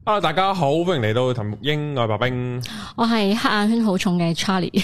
Hello， 大家好，歡迎嚟到談育鷹，我係白兵， 我係黑眼圈好重嘅 Charlie，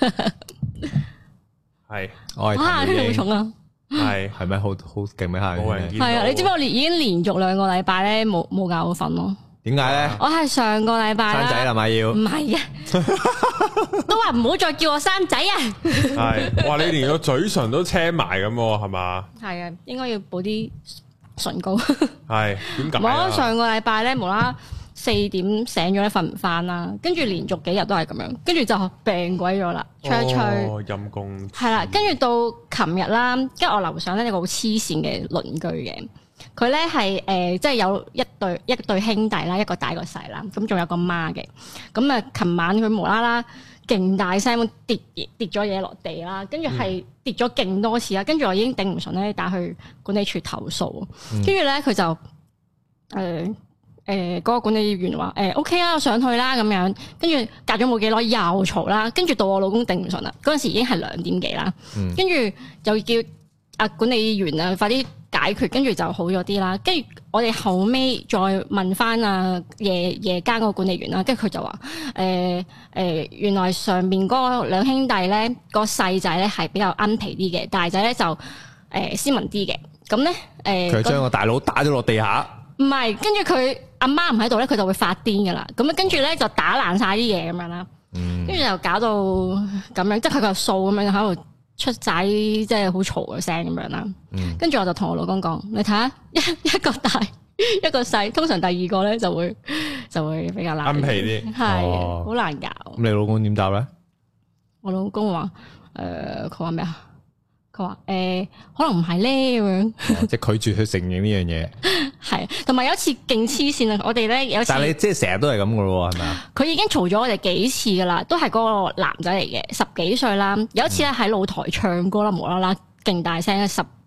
係我係黑眼圈好重啊， 係咪好勁咩？黑眼圈係啊，你知唔知我已經連續2個禮拜咧冇覺好瞓咯？點解咧？我係上個禮拜生仔啦嘛要？唔係啊，都話唔好再叫我生仔啊！ 係，哇！你連個嘴唇都青埋咁，係嘛？ 係啊，應該要補啲唇膏。 係點解？ 我上個禮拜咧無啦4點醒咗咧，瞓唔翻啦，跟住連續幾日都係咁樣，跟住就病鬼咗啦，吹一吹。哦，陰公。係啦，跟住到琴日啦，跟住我樓上咧有個好黐線嘅鄰居嘅。佢咧係即係有一對兄弟啦，一個大一個細啦，咁仲有個媽嘅。咁啊，琴晚佢無啦啦勁大聲咁跌咗嘢落地啦，跟住係跌咗勁多次啦，跟住我已經頂唔順咧，打去管理處投訴。跟住咧佢就嗰個管理員話OK 啦，我上去啦咁樣。跟住隔咗冇幾耐又嘈啦，跟住到我老公頂唔順啦，嗰陣時已經係2點幾啦，跟住就叫管理員啊快啲解決，跟住就好咗啲啦。跟住我哋後尾再問翻夜間嗰個管理員啦，跟住佢就話原來上面嗰2兄弟咧，個細仔咧係比較奀皮啲嘅，大仔咧就斯文啲嘅。咁咧佢將個大佬打咗落地下， 唔係，跟住佢阿媽唔喺度咧，佢就會發癲噶啦。咁跟住咧就打爛晒啲嘢咁樣啦，跟住就搞到咁樣，即係佢個數咁樣喺度出仔，即係好嘈嘅聲咁樣啦。跟住我就同我老公講，你睇下一個大一個細，通常第2個咧就會比較難， 奀皮啲， 係好難搞。 咁你老公點答咧？ 我老公話佢話咩啊？佢話可能唔係咧咁樣， 即係拒絕去承認呢樣嘢。 係，同埋有一次勁黐線啊！我哋咧有次， 但係你即係成日都係咁噶咯，係咪啊？ 佢已經嘈咗我哋幾次噶啦，都係嗰個男仔嚟嘅，10幾歲啦。有一次咧喺露台唱歌啦，無啦啦勁大聲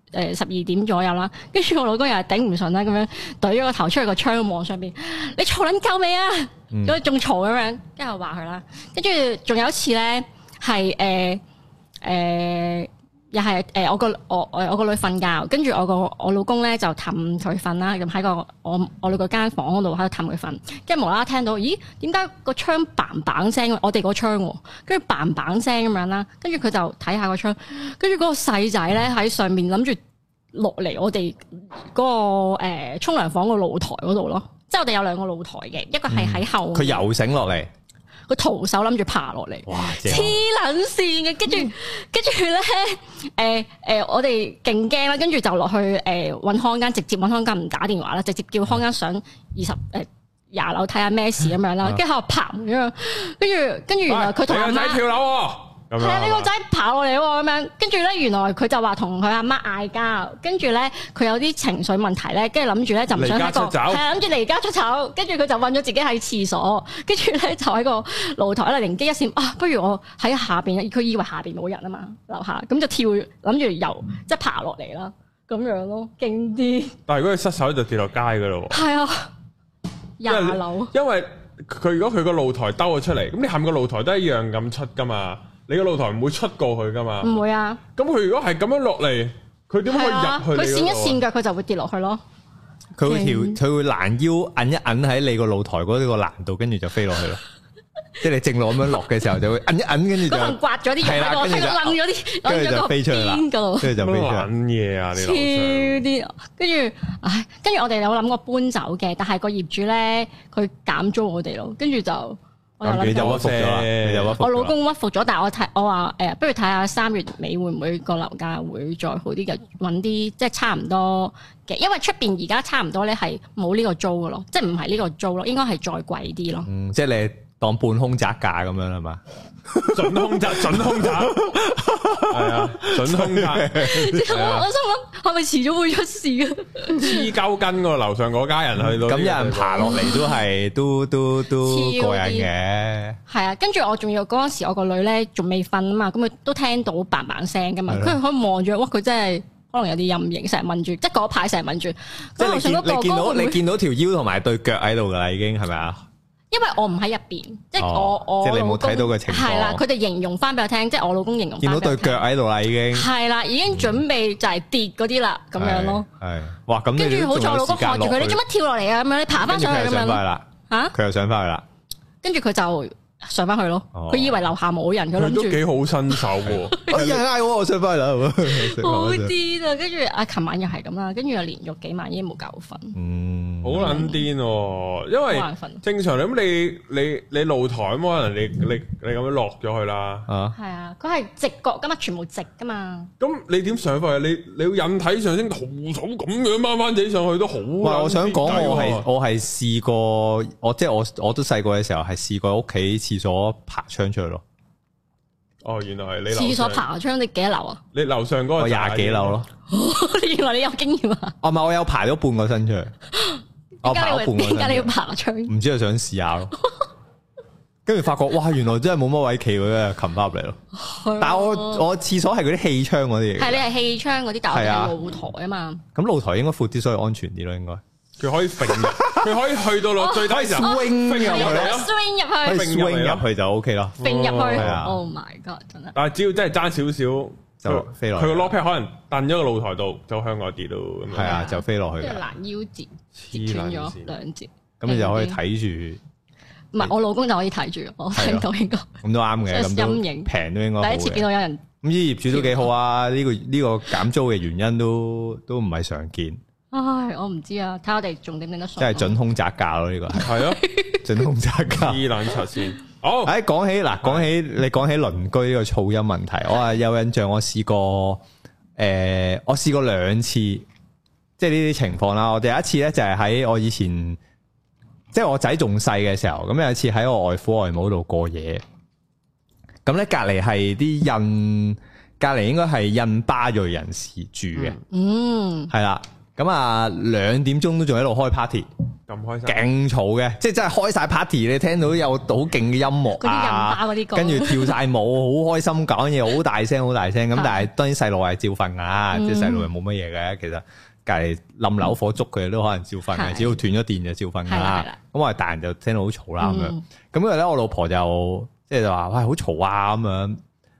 ，12點左右啦，跟住我老公又係頂唔順啦，咁樣懟咗個頭出去個窗望上邊，你嘈撚夠未啊？咁仲嘈咁樣，跟住我話佢啦。跟住仲有一次咧係又係我個女瞓覺，跟住我老公咧就氹佢瞓啦，咁喺我哋個間房嗰度喺度氹佢瞓，跟住無啦啦聽到，咦？點解個窗嘭嘭聲？我哋個窗，跟住嘭嘭聲咁樣啦，跟住佢就睇下個窗，跟住嗰個細仔咧喺上面諗住落嚟我哋嗰個沖涼房個露台嗰度咯，即係我哋有2個露台嘅，一個係喺後面， 佢游繩落嚟。 佢徒手諗住爬落嚟，黐撚線嘅，跟住咧，我哋勁驚啦，跟住就落去揾康間，直接揾康間唔打電話啦，直接叫康間上20樓睇下咩事咁樣啦，跟住喺度爬咁樣，跟住原來佢同阿媽跳樓。係啊，呢個仔爬落嚟喎，咁樣，跟住咧，原來佢就話同佢阿媽嗌交，跟住咧佢有啲情緒問題咧，跟住諗住咧就唔想喺係啊，諗住離家出走，跟住佢就韞咗自己喺廁所，跟住咧就喺個露台咧靈機一閃啊，不如我喺下邊，佢以為下邊冇人啊嘛，樓下咁就跳諗住游即係爬落嚟啦，咁樣咯，勁啲。但係如果佢失手就跌落街噶咯喎。係啊，20樓。因為佢如果佢個露台兜咗出嚟，咁你下面個露台都一樣咁出噶嘛。你個露台唔會出過去噶嘛？ 唔會啊！ 咁佢如果係咁樣落嚟，佢點可以入去？ 佢跣一跣腳，佢就會跌落去咯。 佢會攔腰摁一摁喺你個露台嗰個欄度，跟住就飛落去咯。即係你正路咁樣落嘅時候，就會摁一摁，跟住就刮咗啲嘢喺度，跟住掕咗啲， 跟住就飛出去啦。跟住就飛出去。 撚嘢啊！你超啲，跟住我哋有諗過搬走嘅，但係個業主咧，佢減租我哋咯，跟住就。 你就屈服咗啦， 我老公屈服咗，但係我話不如睇下3月尾會唔會個樓價會再好啲嘅，揾啲即係差唔多嘅，因為出邊而家差唔多咧係冇呢個租嘅咯，即係唔係呢個租咯，應該係再貴啲咯。 即係你當半空宅價咁樣係嘛？ 準空宅，係啊，準空宅。 我心諗係咪遲早會出事啊？ 黐鳩筋個樓上嗰家人去到， 咁有人爬落嚟都係都過癮嘅。係啊，跟住我仲要嗰陣時，我個女咧仲未瞓啊嘛，咁佢都聽到嘭嘭聲噶嘛，佢可以望住，哇！佢真係可能有啲陰影，成日問住，即係嗰排成日問住。 即係你見到條腰同埋對腳喺度噶啦，已經係咪啊？ 因為我唔喺入邊，即係我即係你冇睇到嘅情況。 係啦，佢哋形容翻俾我聽，即係我老公形容翻。 見到對腳喺度啦，已經係啦，已經準備就係跌嗰啲啦，咁樣咯。 係哇，咁跟住好彩我老公學住佢，你做乜跳落嚟啊？咁樣你爬翻上去咁樣。 嚇， 佢又上翻去啦， 跟住佢就上翻去咯。佢以為樓下冇人，佢諗住都幾好新手喎。 有人嗌我上翻去啦， 好癲啊！跟住琴晚又係咁啦，跟住又連續幾晚已經冇覺瞓。 好撚癲喎！因為正常咁你露台咁可能你咁樣落咗去啦。 係啊，佢係直角噶嘛，全部直噶嘛。 咁你點上翻去？你要引體上升，徒手咁樣掹翻自己上去都好。 我想講我係試過，我都細個嘅時候係試過屋企廁所爬窗出去咯。哦，原來係你廁所爬窗，你幾多樓啊？ 你樓上嗰個 20幾樓咯。 原來你有經驗啊？ 唔係，我有爬咗半個身出去。點解你要爬窗？唔知係想試下咯。跟住發覺，哇！原來真係冇乜位企嘅，擒翻入嚟咯。但係我廁所係嗰啲氣窗嗰啲嘢。係你係氣窗嗰啲，但係我係露台啊嘛。咁露台應該闊啲，所以安全啲咯，應該。佢可以揈， 佢可以去到落最低時候 swing 入去 ，swing 入去就 OK 咯。 揈入去 ，Oh my God！ 真係。 但係只要真係爭少少就飛落。佢個 lock pad 可能掟咗個露台度，就向外跌到咁樣。係啊，就飛落去。 跟住攔腰截斷咗2節。 咁你就可以睇住。 唔係，我老公就可以睇住，我睇到應該。 咁都啱嘅，咁陰影平都應該。 第一次見到有人。 咁啲業主都幾好啊！呢個減租嘅原因都唔係常見。 唉，我唔知啊，睇我哋仲點得順。 即係準空宅價咯，呢個係咯，準空宅價。 黐撚柒先。好， 講起你講起鄰居呢個噪音問題，我係有印象，我試過2次，即係呢啲情況啦。我第一次咧就係喺我以前，即係我仔仲細嘅時候，咁有一次喺我外父外母度過夜，咁咧隔籬係啲隔籬應該係印巴裔人士住嘅，係啦。咁啊，2點鐘都仲喺度開 party， 咁開心， 勁嘈嘅，即係真係開晒 party，你聽到有好勁嘅音樂啊，跟住跳晒舞，好開心，講嘢好大聲，咁但係當然細路係照瞓噶，即係細路係冇乜嘢嘅，其實隔籬冧樓火燭佢哋都可能照瞓嘅，只要斷咗電就照瞓噶啦。咁我哋大人就聽到好嘈啦咁樣，咁跟住咧我老婆就即係就話喂，好嘈啊咁樣，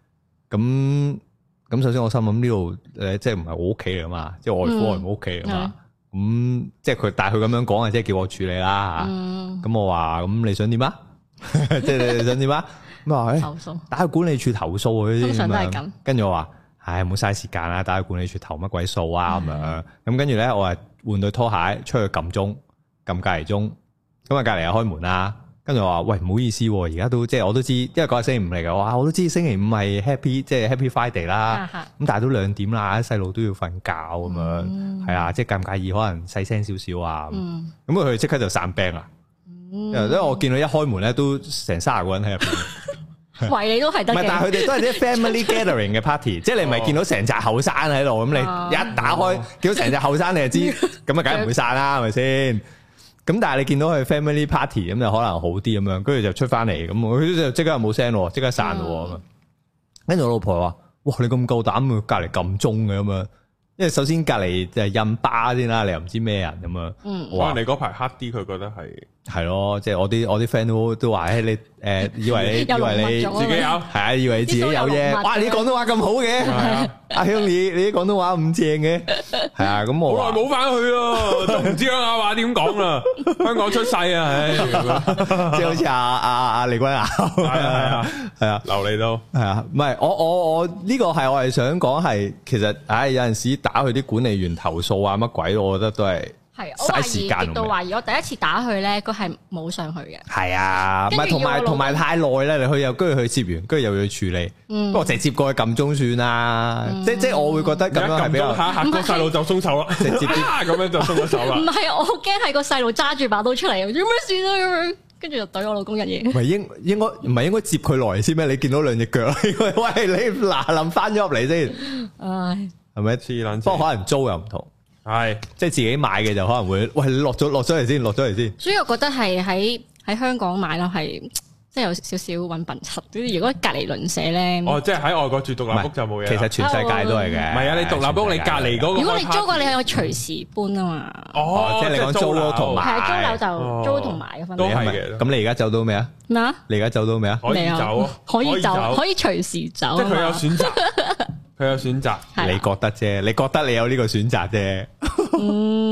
咁首先我心諗呢度即係唔係我屋企嚟噶嘛，即係外父外母屋企嚟嘛，咁即係佢，但係佢咁樣講啊，即係叫我處理啦吓。咁我話咁你想點啊？即係你想點啊？咁話投訴，打去管理處投訴佢先。通常都係咁。跟住我話，唉，唔好嘥時間啦，打去管理處投乜鬼數啊咁樣。咁跟住咧，我係換對拖鞋出去撳鐘，撳隔離鐘。咁啊隔離又開門啦。跟住我話喂，唔好意思，而家都即係我都知，因為嗰日星期五嚟嘅，我都知星期五係 Happy Friday 啦。咁但係都2點啦，啲細路都要瞓覺咁樣，係啊，即係介唔介意可能細聲少少啊？咁佢即刻就散兵啦。因為我見到一開門咧，都成30個人喺入邊， 圍你都係得嘅。唔係， 但係佢哋都係啲 family gathering 嘅 party， 即係你唔係見到成紮後生喺度，咁你一打開見到成紮後生，你就知，咁啊梗係唔會散啦，係咪先？咁但係你見到佢 family party 咁就可能好啲咁樣，跟住就出翻嚟，咁佢就即刻冇聲咯，即刻散咯咁。跟住我老婆話：哇，你咁夠膽隔籬撳鐘嘅咁樣？因為首先隔籬就係印巴先啦，你又唔知咩人咁樣。 可能你嗰排黑啲，佢覺得係咯，即係我啲 friend 都話：你以為你自己有係啊，以為你自己有啫。哇，你廣東話咁好嘅，阿香你啲廣東話咁正嘅，係啊，咁我好耐冇翻去咯，都唔知鄉下話點講啦。香港出世啊，唉， 即係好似阿李君雅，係啊， 流利都係啊，唔係我呢個係我係想講係，其實有陣時打去啲管理員投訴啊乜鬼，我覺得都係。 係，我懷疑極度懷疑，我第一次打去咧，佢係冇上去嘅。係啊，唔係同埋太耐啦，你去又跟住去接完，跟住又要處理。不過直接過去撳鐘算啦，即我會覺得咁樣係比較下個細路就鬆手啦，直接啲咁樣就鬆咗手啦。 唔係，我好驚係個細路揸住把刀出嚟，做咩事啊咁樣，跟住就懟我老公一嘢。唔係應該接佢來先咩？你見到2隻腳，喂你嗱臨翻咗入嚟先，唉，係咪黐撚？不過可能租又唔同。係，即係自己買嘅就可能會，喂，你落咗嚟先。 所以我覺得係喺香港買咯，係即係有少少揾笨柒。如果隔離鄰舍咧， 即係喺外國住獨立屋就冇嘢。 其實全世界都係嘅。唔係啊， 你獨立屋你隔離嗰個， 如果你租過，你可以隨時搬啊嘛。 即係你講租同埋， 係租樓就租同埋嘅分別。 都係嘅。 咁你而家走到未啊？ 咩啊？ 你而家走到未啊？ 可以走， 可以隨時走。 即係佢有選擇。佢有選擇， 你覺得啫？你覺得你有呢個選擇啫？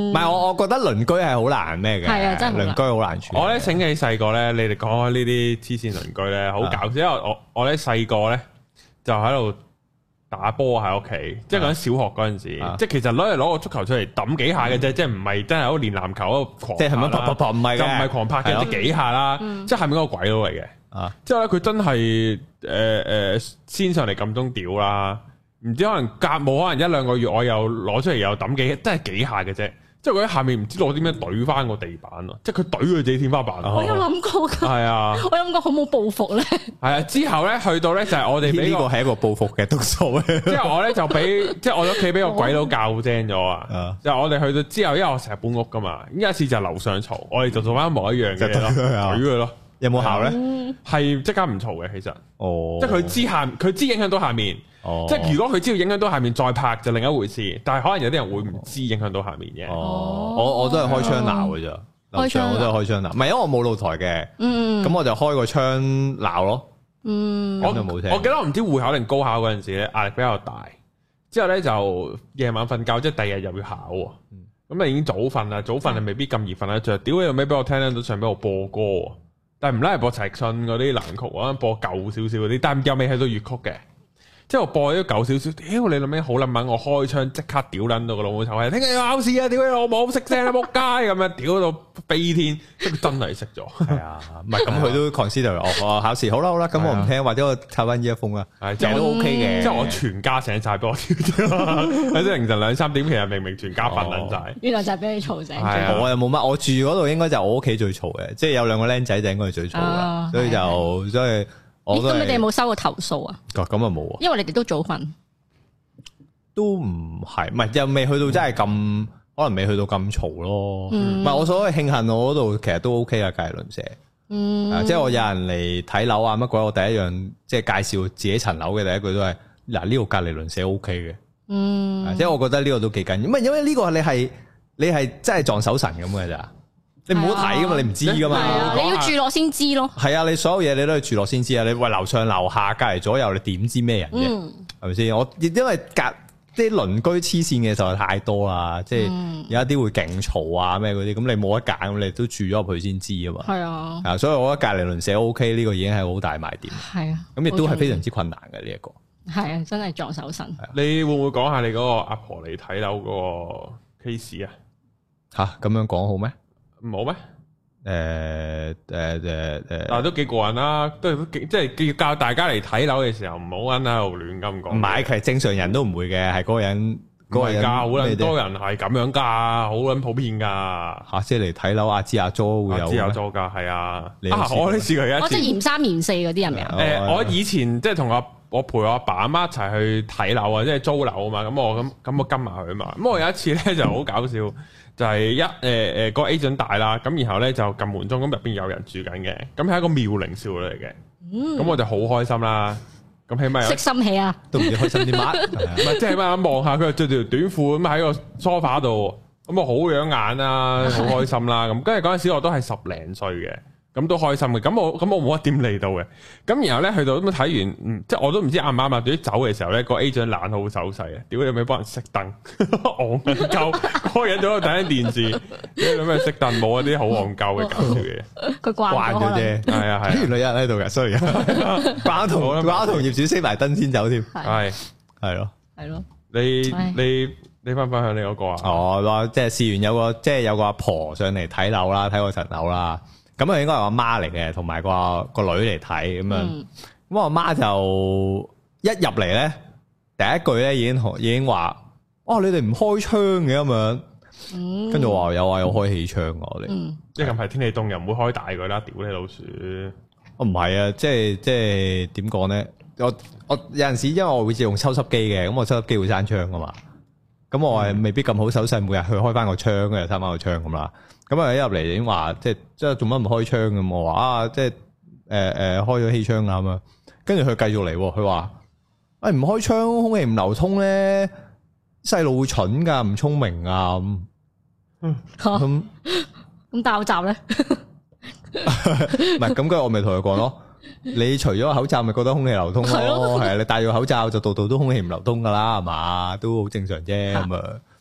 唔係我覺得鄰居係好難咩嘅，係啊，真係鄰居好難處理。我咧醒起細個咧，你哋講開呢啲黐線鄰居咧，好搞笑。因為我咧細個咧就喺度打波喺屋企，即係講小學嗰陣時，即係其實攞個足球出嚟抌幾下嘅啫，即係唔係真係好練籃球嗰個狂，即係咪啪啪啪唔係嘅，就唔係狂拍嘅，即係幾下啦，即係下面嗰個鬼佬嚟嘅。之後咧佢真係先上嚟撳鐘屌啦，唔知可能隔冇可能一兩個月，我又攞出嚟又抌幾，真係幾下嘅啫。即係佢喺下面唔知攞啲咩懟翻個地板咯，即係佢懟佢自己天花板。 我有諗過噶，係啊，我諗過好冇報復咧。係啊，之後咧去到咧就係我哋俾呢個係一個報復嘅督數。 之後我咧就俾即係我屋企俾個鬼佬教精咗啊！就我哋去到之後，因為我成日搬屋噶嘛，有一次就樓上嘈，我哋就做翻一模一樣嘅嘢咯，懟佢咯。有冇效咧？係即刻唔嘈嘅，其實。哦。即係佢知影響到下面。哦。即係如果佢知道影響到下面再拍就另一回事，但係可能有啲人會唔知影響到下面嘅。哦。我都係開窗鬧嘅咋，樓上我都係開窗鬧，唔係因為我冇露台嘅。咁我就開個窗鬧咯。咁就冇聽。我記得我唔知會考定高考嗰陣時咧，壓力比較大。之後咧就夜晚瞓覺，即係第二日又要考。咁啊已經早瞓啦，早瞓係未必咁易瞓得着。屌你有咩俾我聽到上俾我播歌。但係唔拉係播陳奕迅嗰啲爛曲，我播舊少少嗰啲，但係又未去到粵曲嘅。即係我播咗舊少少，屌你諗咩好撚猛，我開槍即刻屌撚到個老母臭閪，聽日要考試啊！屌你老母識聲啦，仆街咁樣屌到飛天，即係真係識咗。係啊，唔係咁佢都 consider 我考試好啦，咁我唔聽，或者我抄翻呢一封啦，其實都 OK 嘅。即係我全家醒晒俾我屌屌，喺啲凌晨2-3點，其實明明全家瞓撚晒。原來就係俾你嘈醒。我又冇乜，我住嗰度應該就我屋企最嘈嘅，即係有兩個僆仔就應該係最嘈嘅，所以咁你哋有冇收過投訴啊？咁啊冇啊，因為你哋都早瞓，都唔係又未去到真係咁，可能未去到咁嘈咯。唔係我所謂慶幸我嗰度其實都 OK 啊，隔籬鄰舍。即係我有人嚟睇樓啊乜鬼，我第一樣即係介紹自己層樓嘅第一句都係嗱，呢度隔籬鄰舍 OK 嘅。即係我覺得呢個都幾緊要，唔係因為呢個你係真係撞手神咁嘅咋。你唔好睇噶嘛，你唔知噶嘛，你要住落先知咯。係啊，你所有嘢你都要住落先知啊。你喂樓上樓下隔籬左右，你點知咩人嘅？係咪先？我因為啲鄰居黐線嘅實在太多啦，即係有一啲會勁嘈啊咩嗰啲，咁你冇得揀，咁你都住咗入去先知啊嘛。係啊，所以我覺得隔籬鄰舍 OK 呢個已經係好大賣點。係啊，咁亦都係非常之困難嘅呢一個。係啊，真係撞手神。你會唔會講下你嗰個阿婆嚟睇樓嗰個 case 啊？吓，咁樣講好咩？冇咩？但都幾過癮啦，都即係教大家嚟睇樓嘅時候，唔好喺度亂咁講。唔係，其實正常人都唔會嘅，係嗰個人好撚多人係咁樣噶，好撚普遍噶。吓，即係嚟睇樓，阿支阿租會有。阿支阿租噶，係啊。我都試過一次。我即係嫌3嫌4嗰啲係咪啊？我以前即係同我陪我阿爸阿媽一齊去睇樓啊，即係租樓啊嘛。咁我跟埋佢啊嘛。咁我有一次咧就好搞笑。就係個 agent 大啦，咁然後咧就撳門鐘，咁入邊有人住緊嘅，咁係一個妙齡少女嚟嘅，咁我就好開心啦，咁起碼識心起啊，都唔知開心啲乜，唔係即係起碼望下佢着條短褲咁喺個 sofa 度，咁我好養眼啦，好開心啦，咁跟住嗰陣時我都係10零歲嘅。咁都開心嘅，咁我冇乜點嚟到嘅，咁然後咧去到咁睇完，即係我都唔知啱唔啱啊。對於走嘅時候咧，個 agent 懶好手勢啊，屌你咪幫人熄燈，戇鳩，嗰個人喺度睇緊電視，你咩熄燈冇啊？啲好戇鳩嘅搞笑嘢，佢慣咗啫，係啊係。原來有人喺度嘅，所以掛同業主熄埋燈先走添，係咯，你分享你嗰個啊？哦，即係試完有個阿婆上嚟睇樓啦，睇我層樓啦。咁啊，應該係我阿媽嚟嘅，同埋個女嚟睇咁樣。咁我阿媽就一入嚟咧，第一句咧已經話：哦，你哋唔開窗嘅咁樣。跟住話有開氣窗我哋。即係近排天氣凍又唔會開大佢啦，屌你老鼠！我唔係啊，即係點講咧？我有陣時因為我會自用抽濕機嘅，咁我抽濕機會閂窗噶嘛。咁我係未必咁好手勢，每日去開翻個窗嘅，閂翻個窗咁啦。咁啊一入嚟已經話，即係做乜唔開窗咁？我話啊，即係開咗氣窗啊咁啊。跟住佢繼續嚟，佢話唔開窗，空氣唔流通咧，細路會蠢噶，唔聰明啊咁。咁戴口罩咧？唔係咁，跟住我咪同佢講咯。你除咗口罩，咪覺得空氣流通咯？係啊，你戴咗口罩就度度都空氣唔流通噶啦，係嘛？都好正常啫咁啊。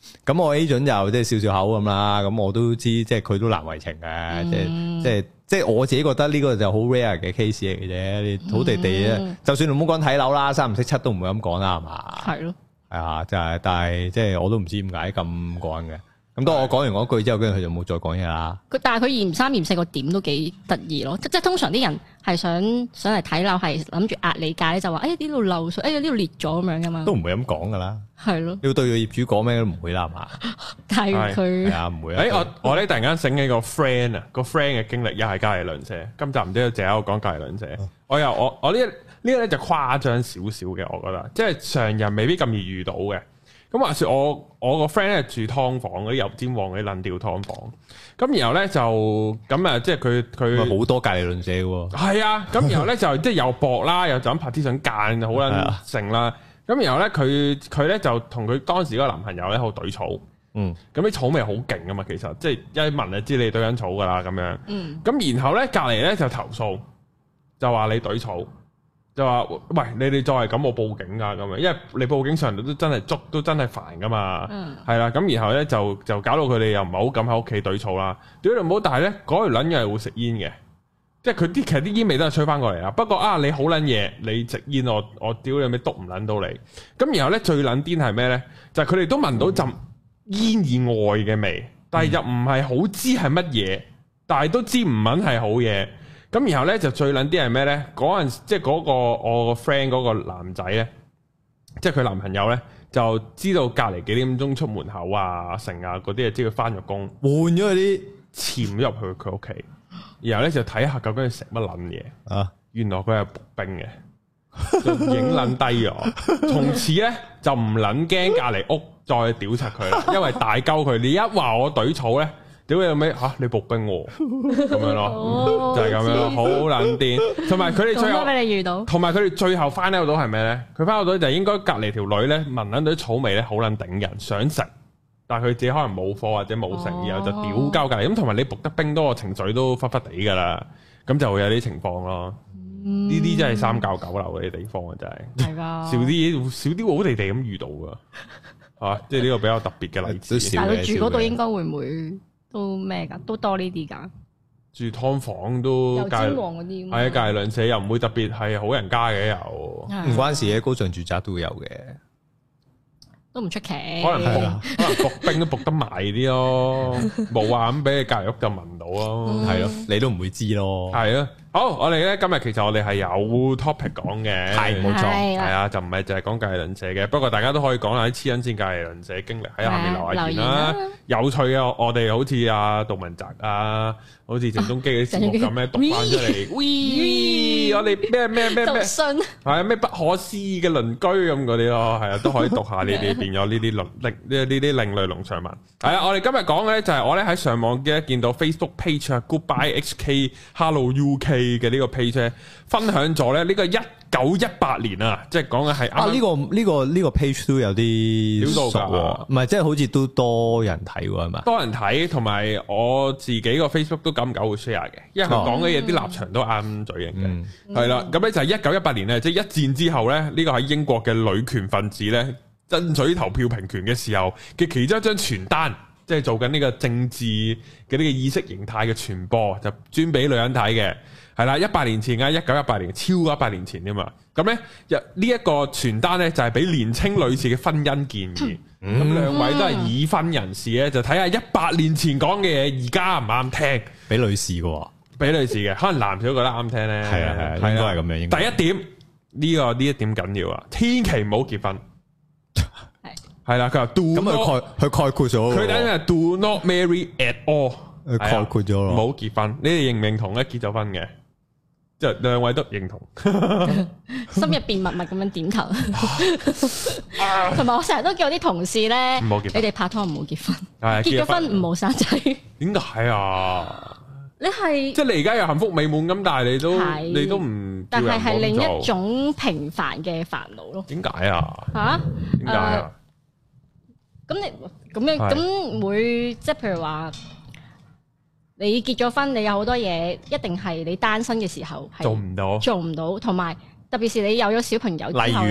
咁我 agent 就即係笑笑口咁啦，咁我都知即係佢都難為情嘅，即係我自己覺得呢個就好 rare 嘅 case 嚟嘅啫。你土地咧，就算你唔好講睇樓啦，三唔識七都唔會咁講啦，係嘛？係咯，係啊，就係，但係即係我都唔知點解咁講嘅。咁當我講完嗰句之後，跟住佢就冇再講嘢啦。但係佢嫌三嫌四個點都幾得意咯，即係通常啲人係想嚟睇樓，係諗住壓你價咧，就話呢度漏水，呢度裂咗咁樣噶嘛。都唔會咁講噶啦。係咯。你要對個業主講咩都唔會啦，係嘛？但係佢係啊，唔會啊。我咧突然間醒起個 friend 啊，個 friend 嘅經歷又係隔離鄰舍。今集唔知淨係我講隔離鄰舍。我呢個咧就誇張少少嘅，我覺得即係常人未必咁易遇到嘅。咁話說我個 friend 咧住劏房嗰啲油尖旺嗰啲撚吊劏房，咁然後咧就咁啊，即係佢好多隔離鄰舍喎。係啊，咁然後咧就即係又薄啦，又就咁拍啲相間好撚成啦。咁然後咧佢咧就同佢當時嗰個男朋友咧好懟草，咁啲草味好勁噶嘛，其實即係一聞就知你懟緊草噶啦咁樣。咁然後咧隔離咧就投訴，就話你懟草。就話喂，你哋再係咁，我報警噶咁樣，因為你報警上嚟都真係捉，都真係煩噶嘛，係啦。咁然後咧就搞到佢哋又唔係好敢喺屋企懟草啦。屌你唔好，但係咧嗰條撚嘢係會食煙嘅，即係佢其實啲煙味都係吹翻過嚟啦。不過啊，你好撚嘢，你食煙我屌你咩篤唔撚到你。咁然後咧最撚癲係咩咧？就係佢哋都聞到陣煙以外嘅味，但係又唔係好知係乜嘢，但係都知唔撚係好嘢。咁然後咧就最撚啲係咩咧？嗰陣即係嗰個我個 friend 嗰個男仔咧，即係佢男朋友咧，就知道隔離幾點鐘出門口啊、成啊嗰啲，知佢翻咗工，換咗嗰啲潛入去佢屋企，然後咧就睇下究竟佢食乜撚嘢啊！原來佢係步兵嘅，就影撚低咗。從此咧就唔撚驚隔離屋再屌柒佢啦，因為大鳩佢，你一話我懟草咧。屌你老味嚇！你步兵喎，咁樣咯，就係咁樣，好撚癲。同埋佢哋最後俾你遇到，同埋佢哋最後翻到係咩咧？佢翻到就應該隔離條女咧聞撚到啲草味咧，好撚頂人，想食，但係佢自己可能冇貨或者冇食，然後就屌鳩隔離。咁同埋你步得兵多，個情緒都忽忽地㗎啦，咁就會有啲情況咯。呢啲真係三教九流嗰啲地方啊，真係。係㗎。少啲好地地咁遇到㗎，嚇！即係呢個比較特別嘅例子。 但係佢住嗰度應該會唔會？都咩噶，都多呢啲噶。 住劏房都油尖旺嗰啲，係啊，隔離鄰舍又唔會特別係好人家嘅，又唔關事嘅，高尚住宅都會有嘅，都唔出奇。可能伏兵都伏得埋啲咯，冇話咁俾你隔離屋就聞到咯，係咯，你都唔會知咯，係啊。好，我哋咧今日其實我哋係有 topic 講嘅，係冇錯，係啊，就唔係淨係講隔離鄰舍嘅。不過大家都可以講下啲黐撚線隔離鄰舍經歷喺下面留下言啦。有趣嘅，我哋好似阿杜汶澤啊，好似鄭中基嗰啲節目咁咧，讀翻出嚟。我哋咩，係啊，咩不可思議嘅鄰居咁嗰啲咯，係啊，都可以讀下你哋變咗呢啲另類農場文。係啊，我哋今日講嘅咧就係我咧喺上網嘅見到 Facebook page 啊 ，Goodbye HK Hello UK。嘅呢個 page 分享咗咧呢個1918年啊，即係講嘅係啊呢個 page 都有啲熟喎，唔係即係好似都多人睇喎，係嘛？多人睇，同埋我自己個 Facebook 都久唔久會 share 嘅，因為佢講嘅嘢啲立場都啱嘴型嘅，係啦。咁咧就係1918年咧，即係一戰之後咧，呢個喺英國嘅女權分子咧爭取投票平權嘅時候嘅其中一張傳單。即係做緊呢個政治嘅呢個意識形態嘅傳播，就專俾女人睇嘅，係啦。100年前啊，1918年，超過100年前添嘛。咁咧，呢一個傳單咧就係俾年青女士嘅婚姻建議。咁兩位都係已婚人士咧，就睇下100年前講嘅嘢，而家唔啱聽。俾女士嘅，俾女士嘅，可能男士都覺得啱聽咧。係啊，應該係咁樣。第一點，呢一點緊要啊，千祈唔好結婚。係啦，佢話 do 咁佢概括咗，佢等係 do not marry at all， 佢概括咗咯，唔好結婚。你哋認唔認同咧？結咗婚嘅，即係兩位都認同， 心入邊默默咁樣點頭。同埋我成日都叫我啲同事咧，你哋拍拖唔好結婚，結咗婚唔好生仔。點解啊？你係即係你而家又幸福美滿咁，但係你都唔，但係另一種平凡嘅煩惱咯。點解啊？吓？點解啊？咁你咁樣咁會即係譬如話，你結咗婚，你有好多嘢一定係你單身嘅時候係做唔到，同埋特別是你有咗小朋友之後，例如咧，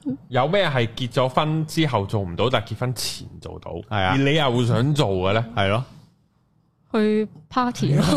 有咩係結咗婚之後做唔到，但係結婚前做到，係啊， 而你又會想做嘅咧？ 係咯， 去 party 咯。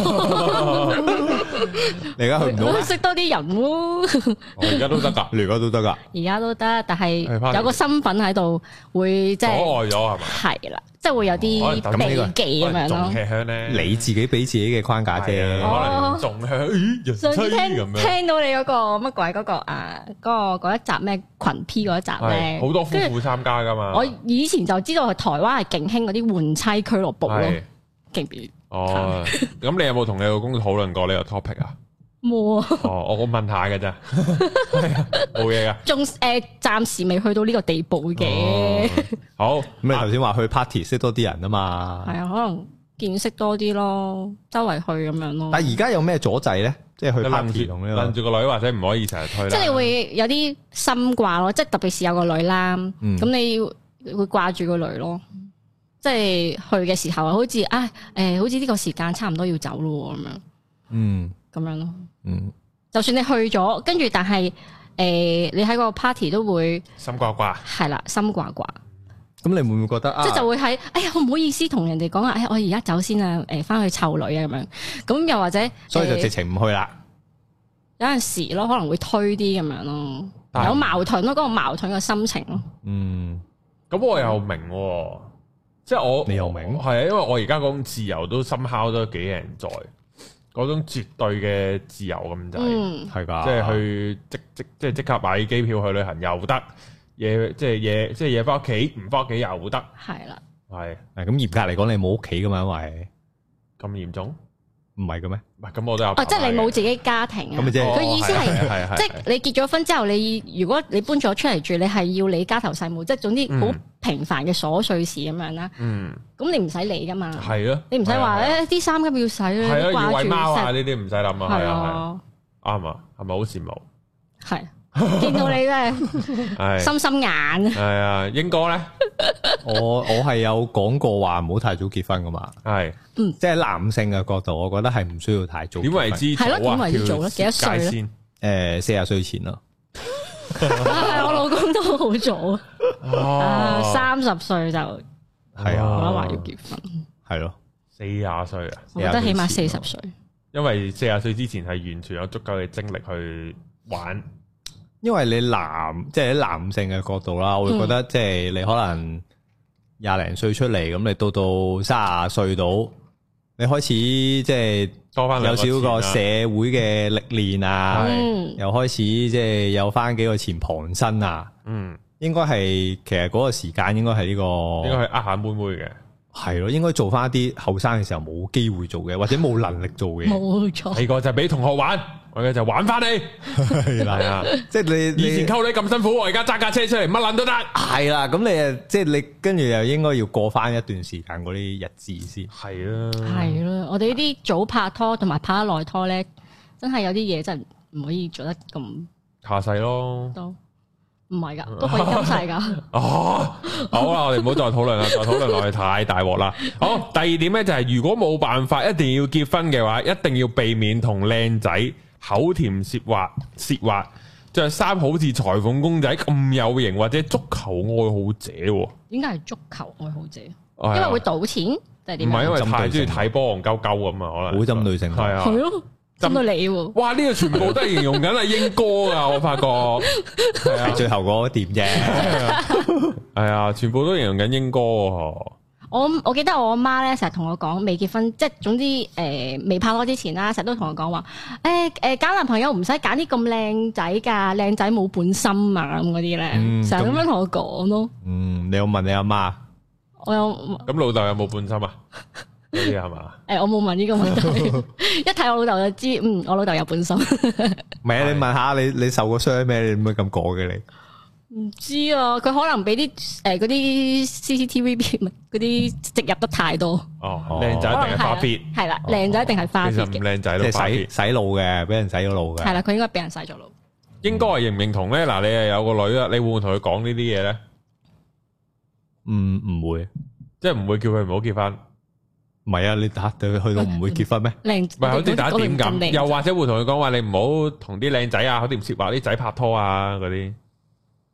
你而家去唔到咩？ 識多啲人喎。 我而家都得噶， 你而家都得噶， 而家都得，但係有個身份喺度，會即係阻礙咗係咪？ 係啦，即係會有啲避忌咁樣咯。 仲吃香咧， 你自己俾自己嘅框架啫， 可能仲香。咦， 上次聽到你嗰個乜鬼嗰個啊，嗰一集咩群 P 嗰一集咧， 好多夫婦參加噶嘛。 我以前就知道台灣係勁興嗰啲換妻俱樂部咯，勁唔？ 哦，咁你有冇同你老公討論過呢個 topic 啊？ 冇啊！ 哦，我問下嘅啫，冇嘢噶。 仲暫時未去到呢個地步嘅。 好， 咁你頭先話去 party 識多啲人啊嘛？ 係啊，可能見識多啲咯，周圍去咁樣咯。 但係而家有咩阻滯咧？即係去 party 同呢個， 攬住個女或者唔可以成日推啦。 即係你會有啲心掛咯，即係特別是有個女啦，咁你會掛住個女咯。即係去嘅時候，好似好似呢個時間差唔多要走咯咁樣，咁樣咯，就算你去咗，跟住但係你喺個 party 都會心掛掛， 係啦，心掛掛。 咁你會唔會覺得即係就會喺我唔好意思同人哋講啊，我而家走先啊，翻去湊女啊咁樣，咁又或者所以就直情唔去啦。 有陣時咯，可能會推啲咁樣咯，有矛盾咯，嗰個矛盾嘅心情咯。 咁我又明。即係你又明係啊，因為我而家嗰種自由都somehow都幾人在嗰種絕對嘅自由咁滯， 係噶， 即係去即刻買機票去旅行又得，夜翻屋企唔翻屋企又得， 係啦， 係咁嚴格嚟講，你冇屋企噶嘛，因為咁嚴重。 唔係嘅咩？ 唔係咁，我都有。 即係你冇自己家庭啊？佢意思係，即係你結咗婚之後，如果你搬咗出嚟住，你係要理家頭細務，即係總之好平凡嘅瑣碎事咁樣啦。咁你唔使理噶嘛。係咯。你唔使話啲衫咁要洗啦， 係啊，要餵貓啊呢啲唔使諗啊，係啊，啱啊，係咪好羨慕？係。 見到你真係心心眼。 係啊，英哥咧， 我係有講過話唔好太早結婚噶嘛。係，即係男性嘅角度，我覺得係唔需要太早。 點為之早啊？ 點為之早咧？幾多歲咧 ？40歲前咯。 係我老公都好早啊，30歲就係啊， 我話要結婚。係咯 ，40歲啊， 我覺得起碼40歲。 因為40歲之前係完全有足夠嘅精力去玩。 因為你即係喺男性嘅角度啦，我會覺得即係你可能20零歲出嚟，咁你到30歲到，你開始即係多翻有少個社會嘅歷練啊，又開始即係有翻幾個錢傍身啊，應該係其實嗰個時間應該係呢個， 應該係下妹妹嘅，係咯，應該做翻一啲後生嘅時候冇機會做嘅，或者冇能力做嘅， 冇錯， 呢個就係俾同學玩。我而家就玩翻你，係啊！即係你以前溝女咁辛苦，我而家揸架車出嚟，乜撚都得。係啦，咁你即係你跟住又應該要過翻一段時間嗰啲日子先。 係啊， 係啦，我哋呢啲早拍拖同埋拍得耐拖咧，真係有啲嘢真係唔可以做得咁下世咯。 都唔係噶，都可以今世噶。 哦，好啦，我哋唔好再討論啦，再討論落去太大鑊啦。好，第二點咧就係如果冇辦法一定要結婚嘅話，一定要避免同靚仔口甜舌滑，着衫好似裁縫公仔咁有型，或者足球愛好者。 點解係足球愛好者？因為會賭錢定係點？ 唔係因為太中意睇波，戇鳩鳩咁啊，可能好針對性。 係啊， 係咯，針對你。 哇！呢個全部都係形容緊係英哥噶，我發覺係最後嗰點啫。 係啊，全部都形容緊英哥。 我記得我阿媽咧成日同我講，未結婚即係總之未拍拖之前啦，成日都同我講話揀男朋友唔使揀啲咁靚仔㗎，靚仔冇本心啊咁嗰啲咧，成日咁樣同我講咯。 你有問你阿媽？ 我有。 咁老豆有冇本心啊？呢啲係嘛？ 我冇問呢個問題，一睇我老豆就知，我老豆有本心。 唔係啊，你問下你受過傷咩？你點解咁講嘅你？ 唔知啊，佢可能俾啲嗰啲 CCTV 嗰啲植入得太多。 哦，靚仔一定係花 fit， 係啦，靚仔一定係花 fit 嘅。 其實唔靚仔都洗腦嘅，俾人洗咗腦嘅。 係啦，佢應該俾人洗咗腦。 應該係認唔認同咧？嗱，你係有個女啦，你會唔會同佢講呢啲嘢咧？ 唔會， 即係唔會叫佢唔好結婚。 唔係啊，你對佢去到唔會結婚咩？ 唔係好似打點咁，又或者會同佢講話，你唔好同啲靚仔啊，好似唔涉話啲仔拍拖啊嗰啲。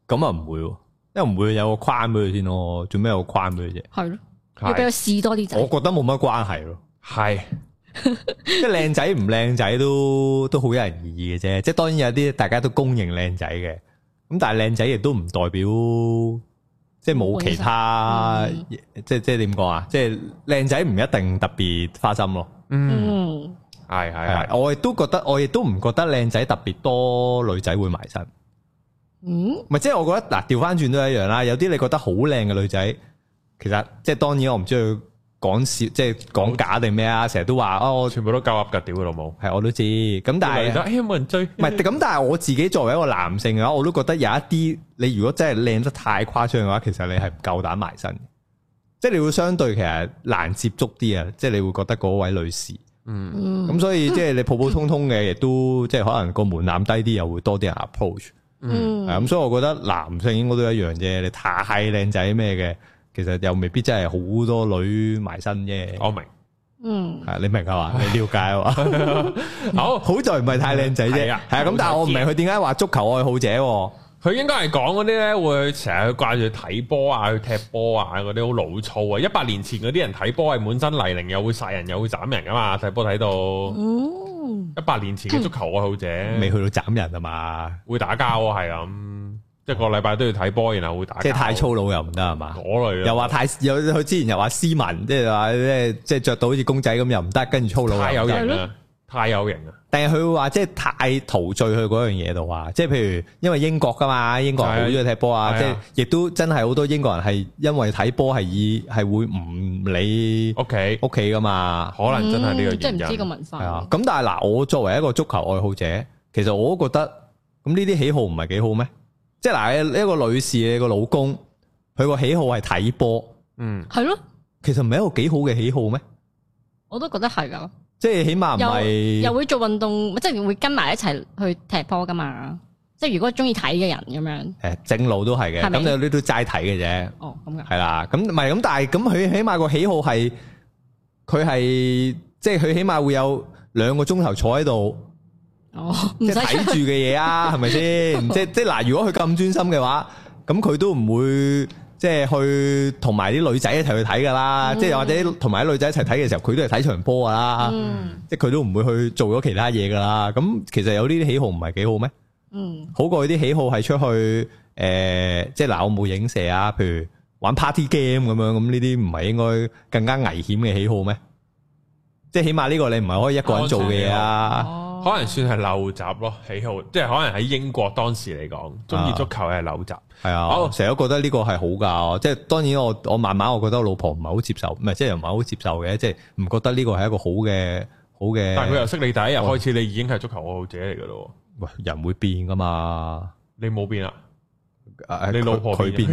咁啊唔會，因為唔會有個框俾佢先咯。做咩有個框俾佢啫？ 係咯，要俾佢試多啲仔。 我覺得冇乜關係咯。 係， 即係靚仔唔靚仔都好有人異議嘅啫。即係當然有啲大家都公認靚仔嘅，咁但係靚仔亦都唔代表即係冇其他，即係點講啊？即係靚仔唔一定特別花心咯。 嗯，係， 我亦都唔覺得靚仔特別多女仔會埋身。咪即係我覺得嗱，調翻轉都一樣啦。有啲你覺得好靚嘅女仔，其實即係當然我唔知佢講笑，即係講假定咩啊？成日都話我全部都夠噏噶，屌佢老母。係我都知，咁但係冇人追。唔係咁，但係我自己作為一個男性嘅話，我都覺得有一啲你如果真係靚得太誇張嘅話，其實你係唔夠膽埋身。即係你會相對其實難接觸啲啊，即係你會覺得嗰位女士。咁所以即係你普普通通嘅，亦都即係可能個門檻低啲，又會多啲人 approach。咁所以我覺得男性應該都一樣啫。你太靚仔咩嘅，其實又未必真係好多女埋身啫。 我明， 係你明係嘛？你了解啊嘛？好在唔係太靚仔啫。係啊，咁但係我唔明佢點解話足球愛好者。 佢應該係講嗰啲咧，會成日掛住睇波啊，去踢波啊，嗰啲好老粗啊。100年前嗰啲人睇波係滿身泥濘，又會殺人又會斬人噶嘛，睇波睇到。100年前嘅足球愛好者， 未去到斬人啊嘛， 會打交啊，係咁，一個禮拜都要睇波，然後會打交。 即係太粗魯又唔得係嘛？ 嗰類又話佢之前又話斯文，即係話即係着到好似公仔咁又唔得，跟住粗魯太有型啦。太有型啊！ 但係佢會話即係太陶醉去嗰樣嘢度啊！即係譬如因為英國噶嘛，英國人好中意踢波啊！即係亦都真係好多英國人係因為睇波係會唔理屋企噶嘛？ 可能真係呢個原因。 即係唔知個文化。 係啊！咁但係嗱，我作為一個足球愛好者，其實我都覺得咁呢啲喜好唔係幾好咩？即係嗱，一個女士你個老公，佢個喜好係睇波， 係咯， 其實唔係一個幾好嘅喜好咩？ 我都覺得係噶。 即係起碼唔係又會做運動，即係會跟埋一齊去踢波噶嘛。即係如果中意睇嘅人咁樣， 正路都係嘅。咁你都齋睇嘅啫。 哦，咁嘅。 係啦，咁唔係咁，但係咁佢起碼個喜好係，佢係即係佢起碼會有2個鐘頭坐喺度，即係睇住嘅嘢啊，係咪先？即係嗱，如果佢咁專心嘅話，咁佢都唔會。即係去同埋啲女仔一齊去睇噶啦，即係或者同埋啲女仔一齊睇嘅時候，佢都係睇場波噶啦，即係佢都唔會去做咗其他嘢噶啦。咁其實有呢啲喜好唔係幾好咩？好過啲喜好係出去即係嗱，我冇影射啊，譬如玩 party game 咁樣，咁呢啲唔係應該更加危險嘅喜好咩？即係起碼呢個你唔係可以一個人做嘅嘢啊。 可能算係陋習咯，喜好，即係可能喺英國當時嚟講，中意足球係陋習。係啊，我成日都覺得呢個係好噶，即係當然我慢慢我覺得我老婆唔係好接受，唔係即係又唔係好接受嘅，即係唔覺得呢個係一個好嘅。但係佢又識你第一日開始，你已經係足球愛好者嚟噶咯。喂，人會變噶嘛？你冇變啊？你老婆佢變咯。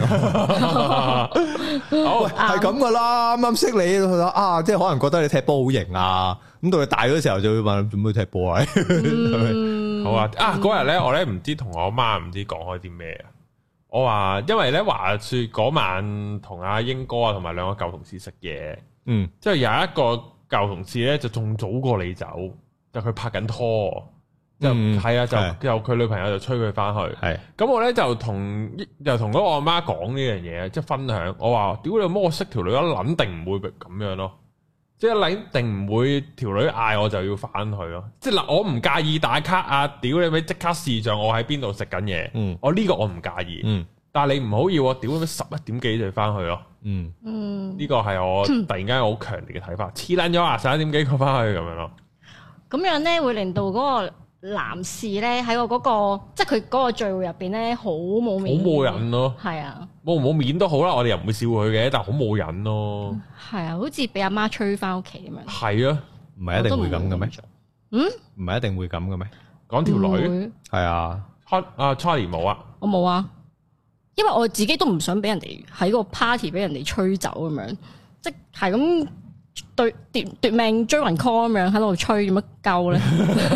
好係咁噶啦，啱啱識你啊，即係可能覺得你踢波好型啊，咁到你大嗰時候就會問做咩踢波啊？好啊，嗰日咧我咧唔知同我媽唔知講開啲咩啊。我話因為咧話說嗰晚同阿英哥啊同埋2個舊同事食嘢，即係有一個舊同事咧就仲早過你走，就佢拍緊拖。就係啊，就佢女朋友就催佢翻去。係咁我咧就同嗰個阿媽講呢樣嘢，即係分享。我話屌你媽，我識條女，我肯定唔會咁樣咯。即係肯定唔會條女嗌我就要翻去咯。即係嗱，我唔介意打卡啊！屌你咪即刻視像我喺邊度食緊嘢。我呢個我唔介意。但係你唔好要我屌你11點幾就翻去咯。呢個係我突然間好強烈嘅睇法。黐撚咗啊！11點幾佢翻去咁樣咯。咁樣咧會令到嗰個男士咧喺我嗰個，即係佢嗰個聚會入邊咧，好冇面，好冇癮咯。係啊，冇面都好啦，我哋又唔會笑佢嘅，但係好冇癮咯。係啊，好似俾阿媽催翻屋企咁樣。係啊，唔係一定會咁嘅咩？唔係一定會咁嘅咩？講條女係啊，Charlie 冇啊，我冇啊，因為我自己都唔想俾人哋喺個 party 俾人哋吹走咁樣，即係咁。奪命追魂 call 咁樣喺度吹，做乜鳩咧？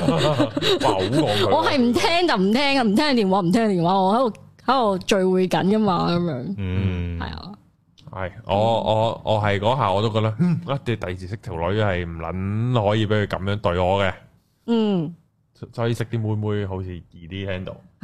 我係唔聽就唔聽啊，唔聽電話唔聽電話，我喺度聚會緊噶嘛咁樣。係啊，係我係嗰下我都覺得，一第二次識條女係唔撚可以俾佢咁樣對我嘅。所以識啲妹妹好似易啲 handle。吓，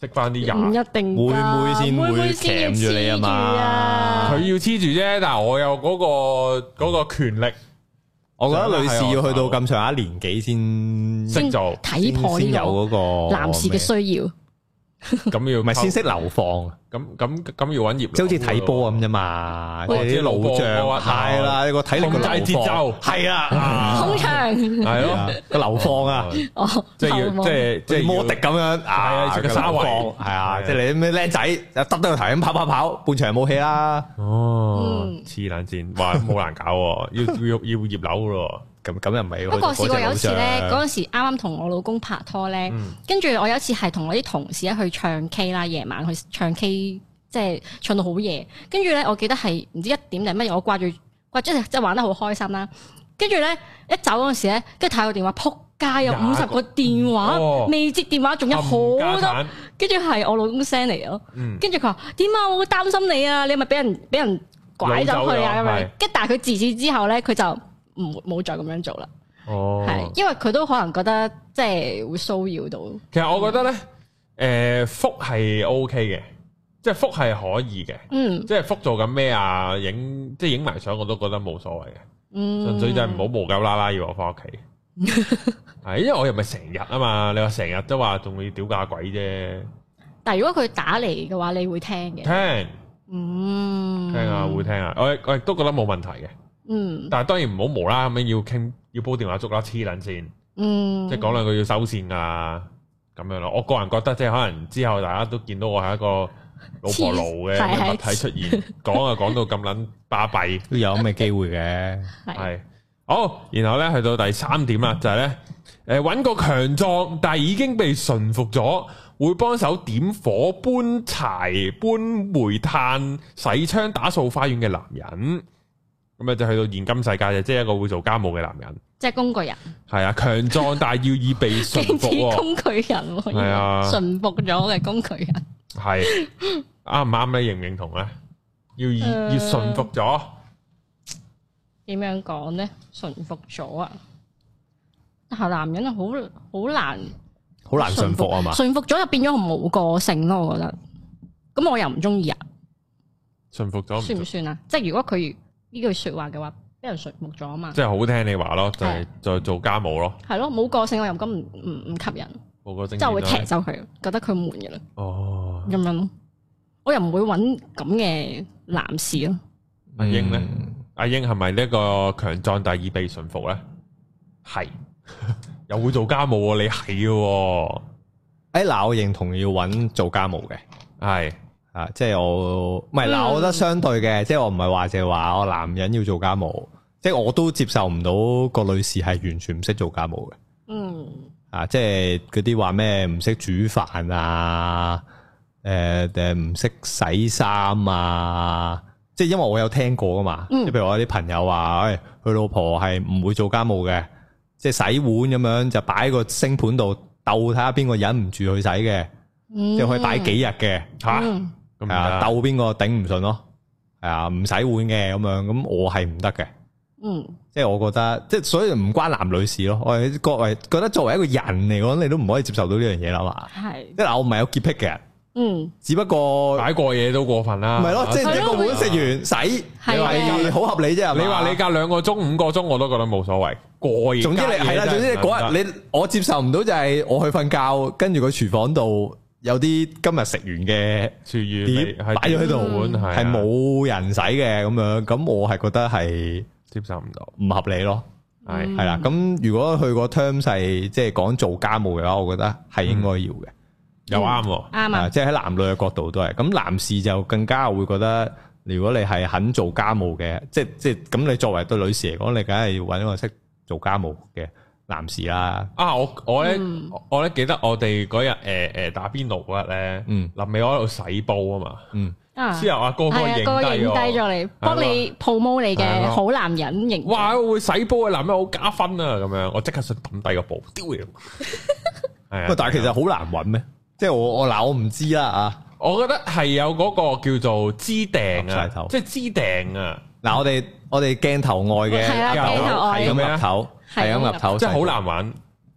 識翻啲人， 唔一定妹妹先會鉗住你啊嘛。 佢要黐住啫，但係我有嗰個權力。 我覺得女士要去到咁上下年紀先識做， 睇破呢有嗰個男士嘅需要。 咁要唔係先識流放， 咁要揾業，即係好似睇波咁啫嘛，即係啲老將係啦，你個體力控制節奏係啊， 空場係咯個流放啊， 即係要摩迪咁樣，係啊，食個沙圍係啊，即係你咩僆仔又耷低個頭咁跑，半場冇氣啦。 哦，黐撚線，哇，好難搞，要葉樓咯。咁又唔係。 不過試過有一次咧，嗰陣時啱啱同我老公拍拖咧，跟住我有一次係同我啲同事去唱 K 啦，夜晚去唱 K，即係唱到好夜。跟住咧，我記得係唔知1點定乜嘢，我掛住即係玩得好開心啦。跟住咧一走嗰陣時咧，跟住睇個電話，撲街有50個電話，未接電話仲有好多，跟住係我老公 send 嚟咯。跟住佢話點啊，我好擔心你啊，你係咪俾人拐走佢啊咁樣？跟但係佢自此之後咧，佢就冇再咁樣做啦，係，因為佢都可能覺得即係會騷擾到。 其實我覺得咧，覆係 OK 嘅，即係覆係可以嘅，即係覆做緊咩啊，影埋相我都覺得冇所謂嘅，純粹就係唔好無鳩啦啦要我翻屋企，係，因為我又唔係成日啊嘛，你話成日都話仲要屌假鬼啫。 但係如果佢打嚟嘅話，你會聽嘅？聽啊，會聽啊，我亦都覺得冇問題嘅。但係當然唔好無啦咁樣要煲電話粥啦，黐撚線，即係講兩句要收線啊咁樣咯。我個人覺得即係可能之後大家都見到我係一個老婆奴嘅物體出現，講到咁撚巴閉， 都有咁嘅機會嘅。 係好，然後咧去到第3點啦，就係咧揾個強壯但係已經被馴服咗，會幫手點火、搬柴、搬煤炭、洗槍、打掃花園嘅男人。咁就去到現今世界就即係一個會做家務嘅男人， 即係工具人。係啊，強壯但係要以被馴服。 工具人係啊，馴服咗嘅工具人。係啱唔啱咧？認唔認同咧？要馴服咗。 點樣講咧？馴服咗啊！但係男人好難馴服啊嘛！ 馴服咗就變咗冇個性咯，我覺得。咁我又唔中意啊。 馴服咗算唔算啊？即係如果佢呢句說話嘅話，俾人馴服咗啊嘛， 即係好聽你話咯，就係再做家務咯， 係咯，冇個性我又咁唔吸引， 冇個性即係會踢走佢，覺得佢悶嘅啦。 哦， 咁樣咯，我又唔會揾咁嘅男士咯。 阿英咧，阿英係咪呢個強壯但係已被馴服咧？係，又會做家務，你係嘅。 嗱，我認同要揾做家務嘅， 係。 啊，即係我唔係嗱，我覺得相對嘅，即係我唔係話就係話我男人要做家務，即係我都接受唔到個女士係完全唔識做家務嘅。啊，即係嗰啲話咩唔識煮飯啊，唔識洗衫啊，即係因為我有聽過噶嘛，即係譬如我有啲朋友話，佢老婆係唔會做家務嘅，即係洗碗咁樣就擺個星盤度鬥睇下邊個忍唔住去洗嘅，即係可以擺幾日嘅吓。係啊，鬥邊個頂唔順咯？係啊，唔洗碗嘅咁樣，咁我係唔得嘅。即係我覺得，即係所以唔關男女事咯。我係各位覺得作為一個人嚟講，你都唔可以接受到呢樣嘢啦嘛。係，即係嗱，我唔係有潔癖嘅人。只不過擺過嘢都過分啦。唔係咯， 即係一個碗食完洗，係好合理啫。 你話你隔2個鐘、5個鐘，我都覺得冇所謂。過夜， 總之你係啦，總之你嗰日我接受唔到就係我去瞓覺，跟住個廚房度。有啲今日食完嘅廚餘碟擺咗喺度，係冇人洗嘅咁樣，咁我係覺得係接受唔到， 唔合理咯。係啦，咁如果佢個 terms 係即係講做家務嘅話，我覺得係應該要嘅， 又啱， 啱啊！ 即係喺男女嘅角度都係。咁男士就更加會覺得，如果你係肯做家務嘅，即係咁，你作為對女士嚟講，你梗係要搵一個識做家務嘅男士啦。 我咧記得我哋嗰日打邊爐嗰日咧，臨尾我喺度洗煲啊嘛，之後阿哥影低咗你，幫你 promote你嘅好男人形象。 哇，會洗煲嘅男人好加分啊！咁樣我即刻想抌低個煲丟佢。係啊， 但係其實好難揾咩？即係我唔知啦啊！ 我覺得係有嗰個叫做支訂啊，即係支訂啊。 嗱，我哋鏡頭外嘅係咁岌頭，係咁岌頭， 即係好難玩。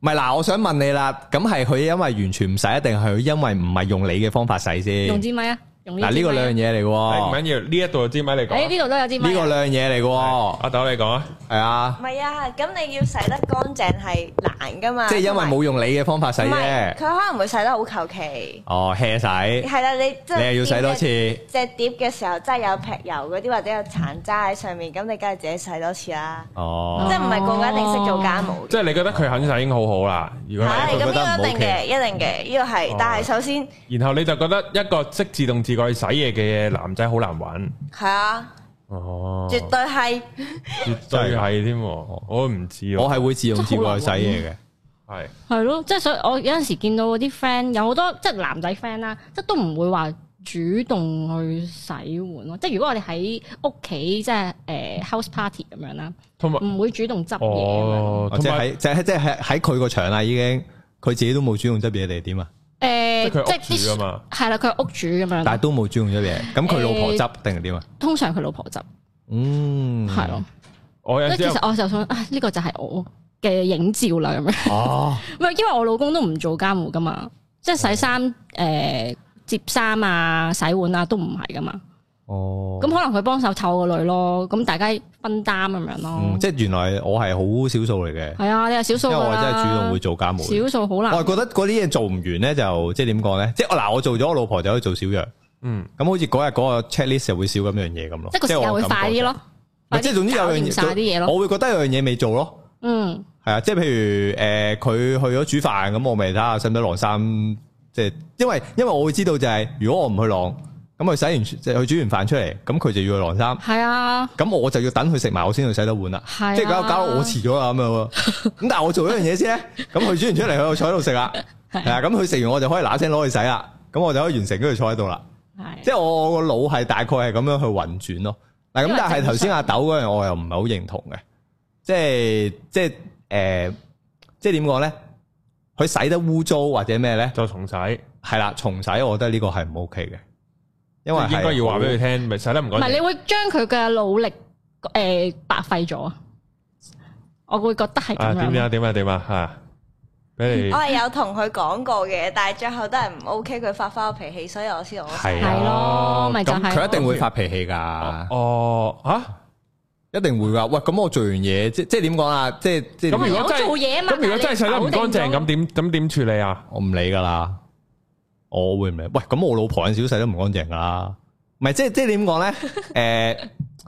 唔係嗱，我想問你啦，咁係佢因為完全唔洗，定係佢因為唔係用你嘅方法洗先？ 用支咪啊！ 嗱，呢個兩樣嘢嚟嘅喎， 唔緊要，呢一度有支咪你講。 呢度都有支咪。 呢個兩樣嘢嚟嘅喎， 阿豆你講啊，係啊。唔係啊，咁你要洗得乾淨係難噶嘛。即係因為冇用你嘅方法洗啫。 佢可能會洗得好求其。 哦 hea 洗。係啦，你係要洗多次。 隻碟嘅時候真係有劈油嗰啲或者有殘渣喺上面，咁你梗係自己洗多次啦。哦。即係唔係個個一定識做家務。 即係你覺得佢肯洗已經好好啦。如果係咁，呢個一定嘅，一定嘅，呢個係。但係首先， 然後你就覺得一個識自動自覺去洗嘢嘅男仔好難揾， 係啊， 哦， 絕對係， 絕對係添，我都唔知， 我係會自動自覺去洗嘢嘅， 係咯，即係所以我有陣時見到啲 friend 有好多即係男仔 friend 啦，即係都唔會話主動去洗碗咯，即係如果我哋喺屋企即係house party 咁樣啦，同埋唔會主動執嘢， 或者喺即係喺佢個場啦，已經佢自己都冇主動執嘢定係點啊？ 即係啲係啦，佢係屋主咁樣， 但係都冇主動咗嘢。咁佢老婆執定係點啊？ 通常佢老婆執，係咯。其實我就想呢個就係我嘅影照啦，咁樣。哦，唔係因為我老公都唔做家務噶嘛，即係洗衫、摺衫啊、洗碗啊都唔係噶嘛。哦，咁可能佢幫手湊個女咯，咁大家分擔咁樣咯。即係原來我係好少數嚟嘅。係啊，你係少數，因為我真係主動會做家務。 少數好難。 我係覺得嗰啲嘢做唔完咧，就即係點講咧？即係我做咗，我老婆就可以做少樣。咁好似嗰日嗰個 checklist 就會少咁樣嘢咁咯。 即係個時間會快啲咯。 即係總之有樣嘢，我會覺得有樣嘢未做咯。係啊，即係譬如佢去咗煮飯，咁我咪睇下使唔使晾衫。即係因為我會知道就係如果我唔去晾。咁佢洗完即係佢煮完飯出嚟，咁佢就要去晾衫。係啊，咁我就要等佢食埋，我先去洗得碗啦。即係搞到我遲咗啦咁樣。咁但係我做一樣嘢先咧，咁佢煮完出嚟，佢坐喺度食啦。係啊，咁佢食完我就可以嗱聲攞去洗啦。咁我就可以完成，跟住坐喺度啦。係，即係我個腦係大概係咁樣去運轉咯。嗱，咁但係頭先阿豆嗰樣我又唔係好認同嘅，即係點講咧？佢洗得污糟或者咩咧？ 就重洗。 係啦，重洗，我覺得呢個係唔 OK 嘅。因為應該要話俾佢聽，咪洗得唔乾淨。 唔係，你會將佢嘅努力白費咗啊！我會覺得係咁樣。 點啊吓？俾你。 我係有同佢講過嘅，但係最後都係唔 OK，佢發翻個脾氣，所以我先係咯，咪就係。 佢一定會發脾氣噶。 哦， 一定會噶。喂，咁我做完嘢，即係點講啊？即係咁如果真係做嘢啊嘛， 咁如果真係洗得唔乾淨，咁點處理啊？ 我唔理噶啦。我會唔理？喂，咁我老婆有少少洗得唔乾淨噶啦，唔係即係點講咧？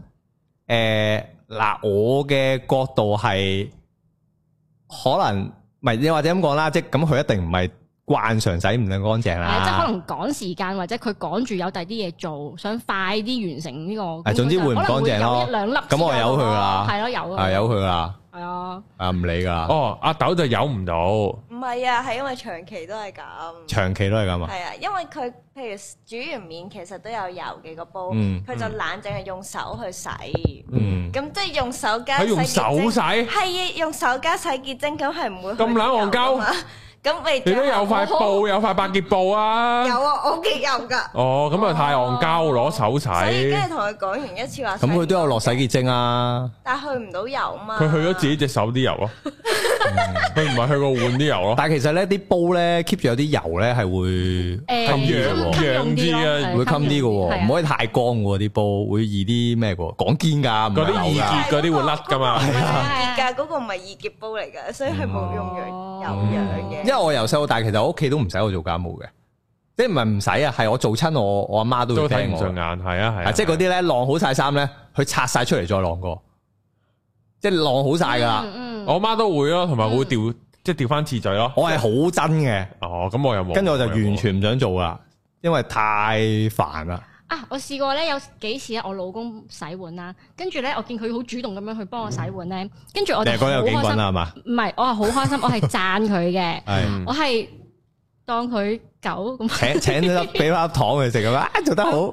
嗱，我嘅角度係可能唔係，你或者咁講啦，即係咁佢一定唔係慣常洗唔咁乾淨啦。 即係可能趕時間，或者佢趕住有第啲嘢做，想快啲完成呢個。 總之會唔乾淨咯。 一兩粒咁我由佢啦。 係咯， 由佢啦。 係啊。 唔理噶。 哦，阿豆就由唔到。 唔係啊，係因為長期都係咁。 長期都係咁啊。 係啊，因為佢譬如煮完麵，其實都有油嘅個煲，佢就懶淨係用手去洗。咁即係用手加洗潔精。用手洗？係用手加洗潔精，咁係唔會咁懶戇鳩。咁你都有塊布，有塊百潔布啊？ 有啊，我屋企有噶。 哦，咁啊太戇鳩，攞手洗。 所以跟住同佢講完一次話。 咁佢都有落洗潔精啊？ 但係去唔到油嘛？ 佢去咗自己隻手啲油咯。佢唔係去過換啲油咯。 但係其實咧啲煲咧 keep 住有啲油咧係會揚啲啊， 會襟啲嘅，唔可以太乾嘅啲煲，會易啲咩嘅？講堅噶， 嗰啲易潔嗰啲會甩噶嘛？ 係啊，易潔噶嗰個唔係易潔煲嚟噶，所以係冇用油揚嘅。 因為我由細到大，其實我屋企都唔使我做家務嘅，即係唔係唔使啊，係我做親我阿媽都會聽我。 都睇唔順眼，係啊， 即係嗰啲咧晾好晒衫咧，佢拆晒出嚟再晾過，即係晾好晒噶啦。 我阿媽都會咯，同埋會調即係調翻次序咯。 我係好真嘅。 哦，咁我又冇。 跟住我就完全唔想做啦，因為太煩啦。 我試過咧有幾次咧，我老公洗碗啦，跟住咧我見佢好主動咁樣去幫我洗碗咧，跟住我哋好開心係嘛？唔係，我係好開心，我係讚佢嘅，我係當佢狗咁。 請咗俾翻粒糖佢食咁啊，做得好。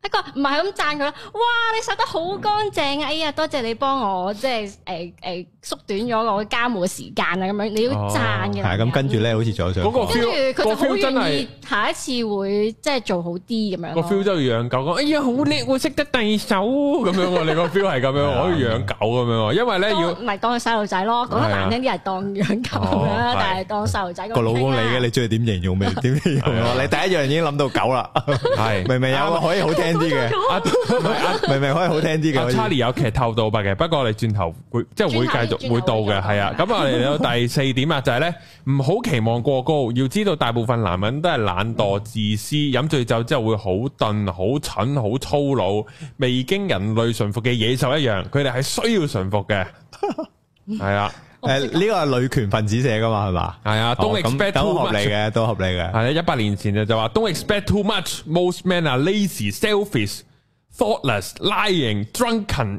佢唔係咁讚佢啦，哇！你洗得好乾淨啊！哎呀，多謝你幫我即係縮短咗我家務嘅時間啊！咁樣你要讚嘅。 係咁跟住咧，好似仲有想。 跟住佢就好願意下一次會即係做好啲咁樣。 個 feel 真係養狗講，哎呀好叻喎，識得遞手咁樣喎。你個 feel 係咁樣，可以養狗咁樣。因為咧要唔係當佢細路仔咯，講得難聽啲係當養狗啦，但係當細路仔個老公嚟嘅，你中意點形容咪點形容咯？你第一樣已經諗到狗啦，係明明有個可以好聽啲嘅，明明可以好聽啲嘅。 Charlie 有劇透到嘅，不過我哋轉頭會即係會繼續會到嘅，係啊。咁我哋嚟到第4點啊，就係咧唔好期望過高，要知道大部分男人都係懶惰、自私，飲醉酒之後會好鈍、好蠢、好粗魯，未經人類馴服嘅野獸一樣，佢哋係需要馴服嘅，係啊。 呢個係女權分子寫噶嘛，係嘛？ 係啊，Don't expect too much 都合理嘅，都合理嘅。 係啊，100年前就話 Don't expect too much. Most men are lazy, selfish, thoughtless, lying, drunken,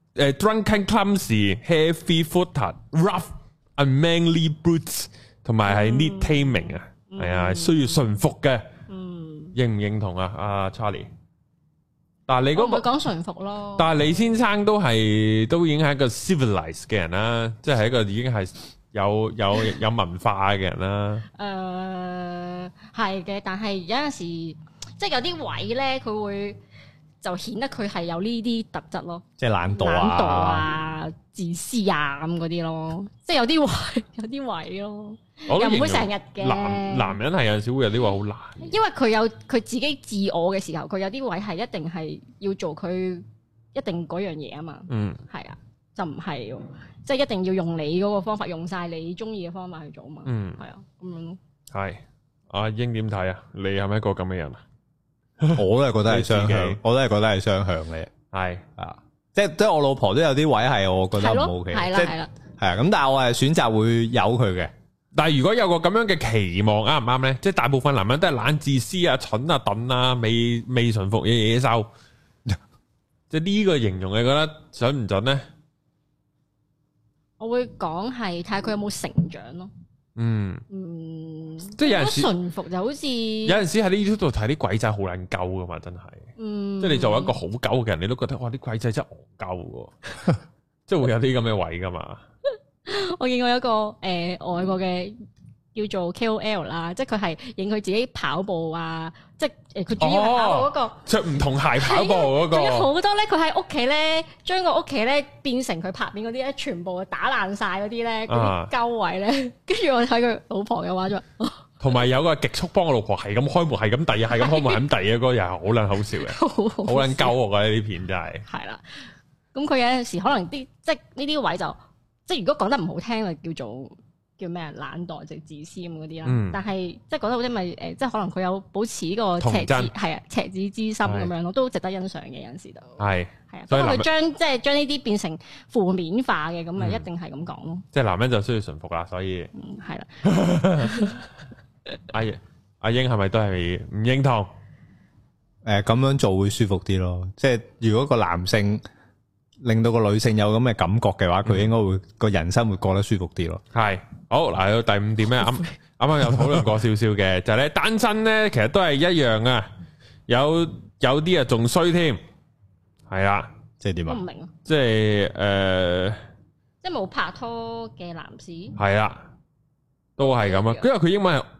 clumsy, heavy-footed, rough, unmanly brutes， 同埋係 need taming 啊，係啊，需要馴服嘅。認唔認同啊？阿 Charlie？但係你嗰個講馴服咯， 但係李先生都已經係一個 civilized 嘅人啦，即係一個已經係有文化嘅人啦。 係嘅，但係有陣時即係有啲位咧，佢會就顯得佢係有呢啲特質咯， 即係懶惰啊、自私啊咁嗰啲咯，即係有啲位咯。又唔會成日嘅。 男人係有陣時會有啲話好難， 因為佢有佢自己自我嘅時候，佢有啲位係一定係要做佢一定嗰樣嘢啊嘛。係啊，就唔係即係一定要用你嗰個方法，用晒你中意嘅方法去做啊嘛。係啊，咁樣咯。 係阿英點睇啊？你係咪一個咁嘅人啊？ 我都係覺得係雙向，我都係覺得係雙向嘅。係啊，即係我老婆都有啲位係我覺得唔 OK， 係啦，係啦， 係啊。咁但係我係選擇會由佢嘅。 但係如果有個咁樣嘅期望啱唔啱咧？即係大部分男人都係懶自私啊、蠢啊、鈍啊、未馴服嘅野獸，即係呢個形容你覺得準唔準咧？ 我會講係睇下佢有冇成長咯。 即係有陣時馴服就好似有陣時喺呢 YouTube 度睇啲鬼仔好撚鳩噶嘛，真係。即係你作為一個好鳩嘅人，你都覺得哇啲鬼仔真係戇鳩嘅，即係會有啲咁嘅位噶嘛。 我見過有一個外國嘅叫做 KOL 啦，即係佢係影佢自己跑步啊，即係佢主要係跑步嗰個着唔同鞋跑步嗰個。仲有好多咧，佢喺屋企咧，將個屋企咧變成佢拍片嗰啲咧，全部打爛晒嗰啲咧，嗰啲鳩位咧。跟住我睇佢老婆嘅話就，同埋有個極速幫我老婆係咁開門，係咁遞，係咁開門，係咁遞嘅嗰個又係好撚好笑嘅，好撚鳩我覺得呢啲片真係。係啦，咁佢有陣時可能啲即係呢啲位就。即係如果講得唔好聽，就叫咩啊？懶惰直自私咁嗰啲啦。但係即係講得好聽咪即係可能佢有保持個赤子係啊赤子之心咁樣咯，都值得欣賞嘅有陣時就係啊。所以佢將呢啲變成負面化嘅咁咪一定係咁講咯。 即係男人就需要馴服啦，所以係啦。 阿英係咪都係唔認同？ 咁樣做會舒服啲咯。即係如果個男性令到個女性有咁嘅感覺嘅話，佢應該會個人生會過得舒服啲咯。 係好嗱，到第5點咧，啱啱有討論過少少嘅，就係咧單身咧，其實都係一樣啊。有啲啊仲衰添，係啊， 即係點啊？ 我唔明啊。 即係即係冇拍拖嘅男士。 係啊，都係咁啊。因為佢英文係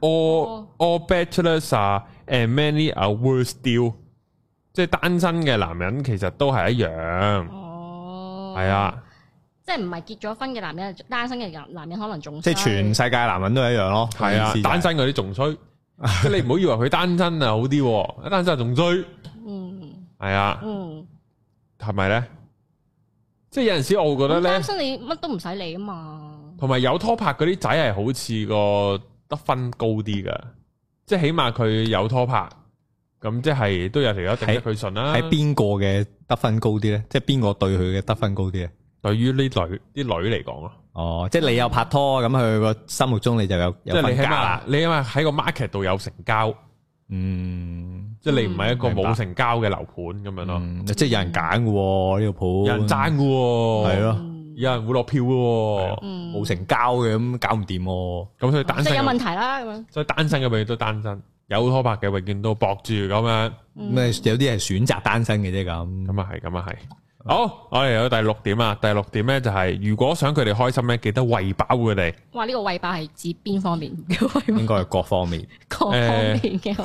all bachelors are and many are worse still， 即係單身嘅男人其實都係一樣。係啊， 即係唔係結咗婚嘅男人，單身嘅男人可能仲即係全世界男人都係一樣咯。 係啊，單身嗰啲仲衰，即係你唔好以為佢單身啊好啲，單身仲衰。係啊，係咪咧？即係有陣時我會覺得咧， 單身你乜都唔使理啊嘛。 同埋有拖拍嗰啲仔係好似個得分高啲噶，即係起碼佢有拖拍。咁即係都有條友頂得佢順啦。喺邊個嘅得分高啲咧？即係邊個對佢嘅得分高啲咧？ 對於呢啲女嚟講咯。 哦，即係你有拍拖，咁佢個心目中你就有分價。 你起碼喺個 market 度有成交。即係你唔係一個冇成交嘅樓盤咁樣咯。 即係有人揀嘅呢個鋪。 有人爭嘅。 係咯。 有人會落票嘅， 冇成交嘅咁搞唔掂， 咁所以單身即係有問題啦咁樣。 所以單身嘅永遠都單身，有拖拍嘅永遠都搏住咁樣。 咩有啲係選擇單身嘅啫咁。 咁啊係。好，我哋有第6點啊。第6點咧就係如果想佢哋開心咧，記得餵飽佢哋。哇！ 呢個餵飽係指邊方面嘅餵飽？ 應該係各方面。 各方面嘅。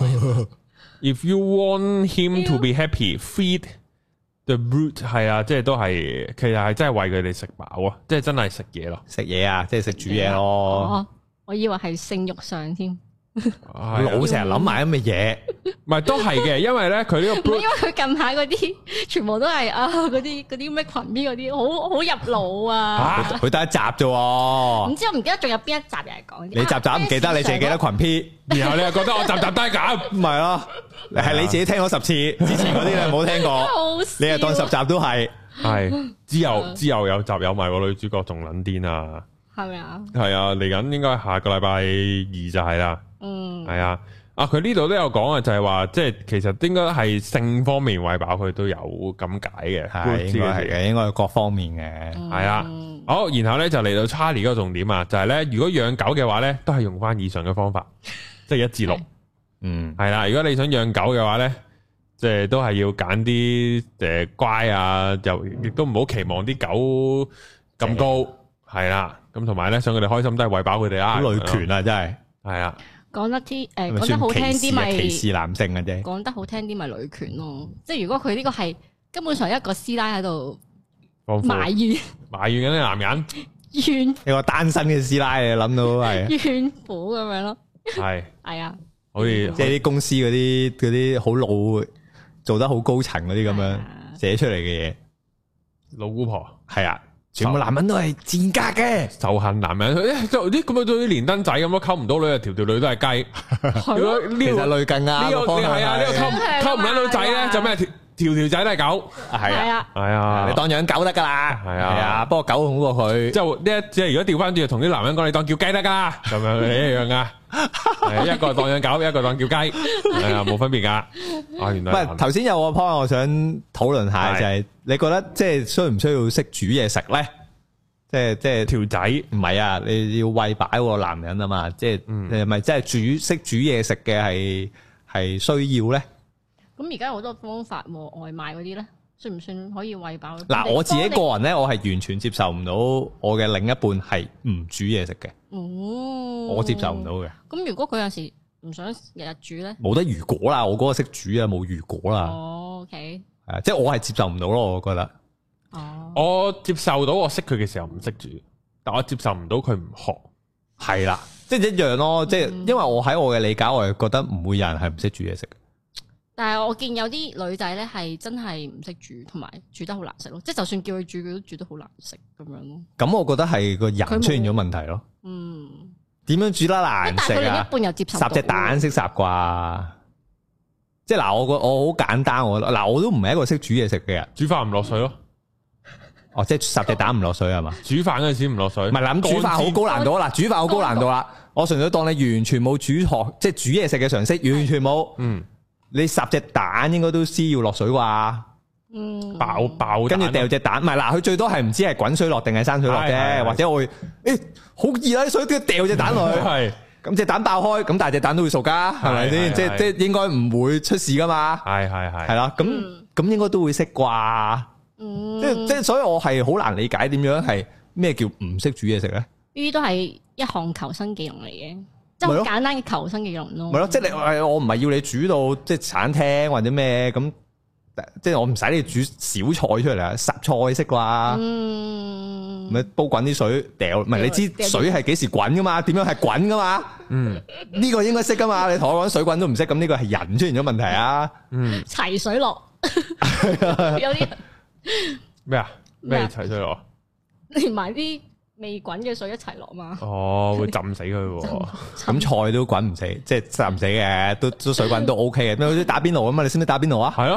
If you want him to be happy, feed the brute 係啊，即係都係，其實係真係餵佢哋食飽啊，即係真係食嘢咯， 食嘢啊，即係食煮嘢咯。 我以為係性慾上添。 老成日諗埋咁嘅嘢， 唔係都係嘅，因為咧佢呢個， 因為佢近排嗰啲全部都係嗰啲咩群邊嗰啲，好入腦啊！ 佢得一集啫， 唔知我唔記得仲有邊一集又係講。 你集集唔記得，你淨係記得群 P， 然後你又覺得我集集都係咁， 唔係咯？係你自己聽咗10次，之前嗰啲你冇聽過，你又當10集都係。 係之後有集有埋個女主角仲撚癲啊！ 係咪啊？ 係啊，嚟緊應該下個禮拜2就係啦。係啊，佢呢度都有講啊，就係話，即係其實應該係性方面餵飽佢都有咁解嘅， 係應該係嘅，應該係各方面嘅， 係啊。好，然後咧就嚟到 Charlie 嗰個重點啊，就係咧，如果養狗嘅話咧，都係用翻以上嘅方法，即係1至6，係啦。如果你想養狗嘅話咧，即係都係要揀啲乖啊，又亦都唔好期望啲狗咁高，係啦。咁同埋咧，想佢哋開心都係餵飽佢哋啊。 女權啊，真係係啊。 講得好聽啲咪歧視男性嘅啫， 講得好聽啲咪女權咯。即係如果佢呢個係根本上一個師奶喺度埋怨緊啲男人， 怨一個單身嘅師奶，你諗到係怨婦咁樣咯。係啊， 好似即係啲公司嗰啲好老做得好高層嗰啲咁樣寫出嚟嘅嘢， 老姑婆係啊。全部男人都係賤格嘅， 仇恨男人。啲咁啊，做啲連登仔咁咯，溝唔到女啊，條女都係雞。如果呢其實類近啊， 呢個係啊，呢個溝唔到女仔咧，就咩條仔都係狗。係啊， 你當養狗得噶啦。係啊，不過狗好過佢。即係如果調翻轉，同啲男人講，你當叫雞得噶啦，咁樣一樣噶。一個當養狗，一個當叫雞，係啊，冇分別噶。原來唔係頭先有個 point，我想討論下，就係你覺得即係需唔需要識煮嘢食咧？即係條仔唔係啊，你要餵飽個男人啊嘛，即係係咪即係識煮嘢食嘅係需要咧？ 咁而家有好多方法喎，外賣嗰啲咧，算唔算可以餵飽？ 嗱，我自己個人咧，我係完全接受唔到我嘅另一半係唔煮嘢食嘅。我接受唔到嘅。咁如果佢有時唔想日日煮咧， 冇得如果啦，我嗰個識煮啊，冇如果啦。 OK， 係啊，即係我係接受唔到咯，我覺得。 我接受到我識佢嘅時候唔識煮，但我接受唔到佢唔學。 係啦，即係一樣咯，即係因為我喺我嘅理解，我係覺得唔會有人係唔識煮嘢食。 但係我見有啲女仔咧係真係唔識煮，同埋煮得好難食咯。即係就算叫佢煮，佢都煮得好難食咁樣咯。咁我覺得係個人出現咗問題咯。點樣煮得難食啊？但係佢另一半又接受唔到。烚隻蛋識烚啩？即係嗱，我好簡單，我都唔係一個識煮嘢食嘅人。 煮飯唔落水咯。 哦，即係烚隻蛋唔落水係嘛？煮飯嗰陣時唔落水。唔係啦，咁煮飯好高難度啦，煮飯好高難度啦。我純粹當你完全冇煮學，即係煮嘢食嘅常識，完全冇。你烚隻蛋應該都知要落水啩？爆，跟住掉隻蛋，唔係嗱，佢最多係唔知係滾水落定係生水落啫，或者我會好熱啊啲水，跟住掉隻蛋落去，係咁隻蛋爆開，咁但係隻蛋都會熟噶，係咪先？即係應該唔會出事噶嘛？係啦，咁應該都會識啩？即係，所以我係好難理解點樣係咩叫唔識煮嘢食咧？呢啲都係一項求生技能嚟嘅。即係好簡單嘅求生技能咯，咪咯，即係你我唔係要你煮到即係餐廳或者咩咁，即係我唔使你煮小菜出嚟啊，烚菜識啩，咪煲滾啲水掉，唔係你知水係幾時滾噶嘛？點樣係滾噶嘛？呢個應該識噶嘛？你同我講水滾都唔識，咁呢個係人出現咗問題啊？齊水落，有啲咩啊？咩齊水落？ 連埋啲未滾嘅水一齊落嘛？ 哦，會浸死佢。 咁菜都滾唔死，即係浸唔死嘅，都水滾都 OK 嘅。咩好似打邊爐啊嘛？你識唔識打邊爐啊？係咯，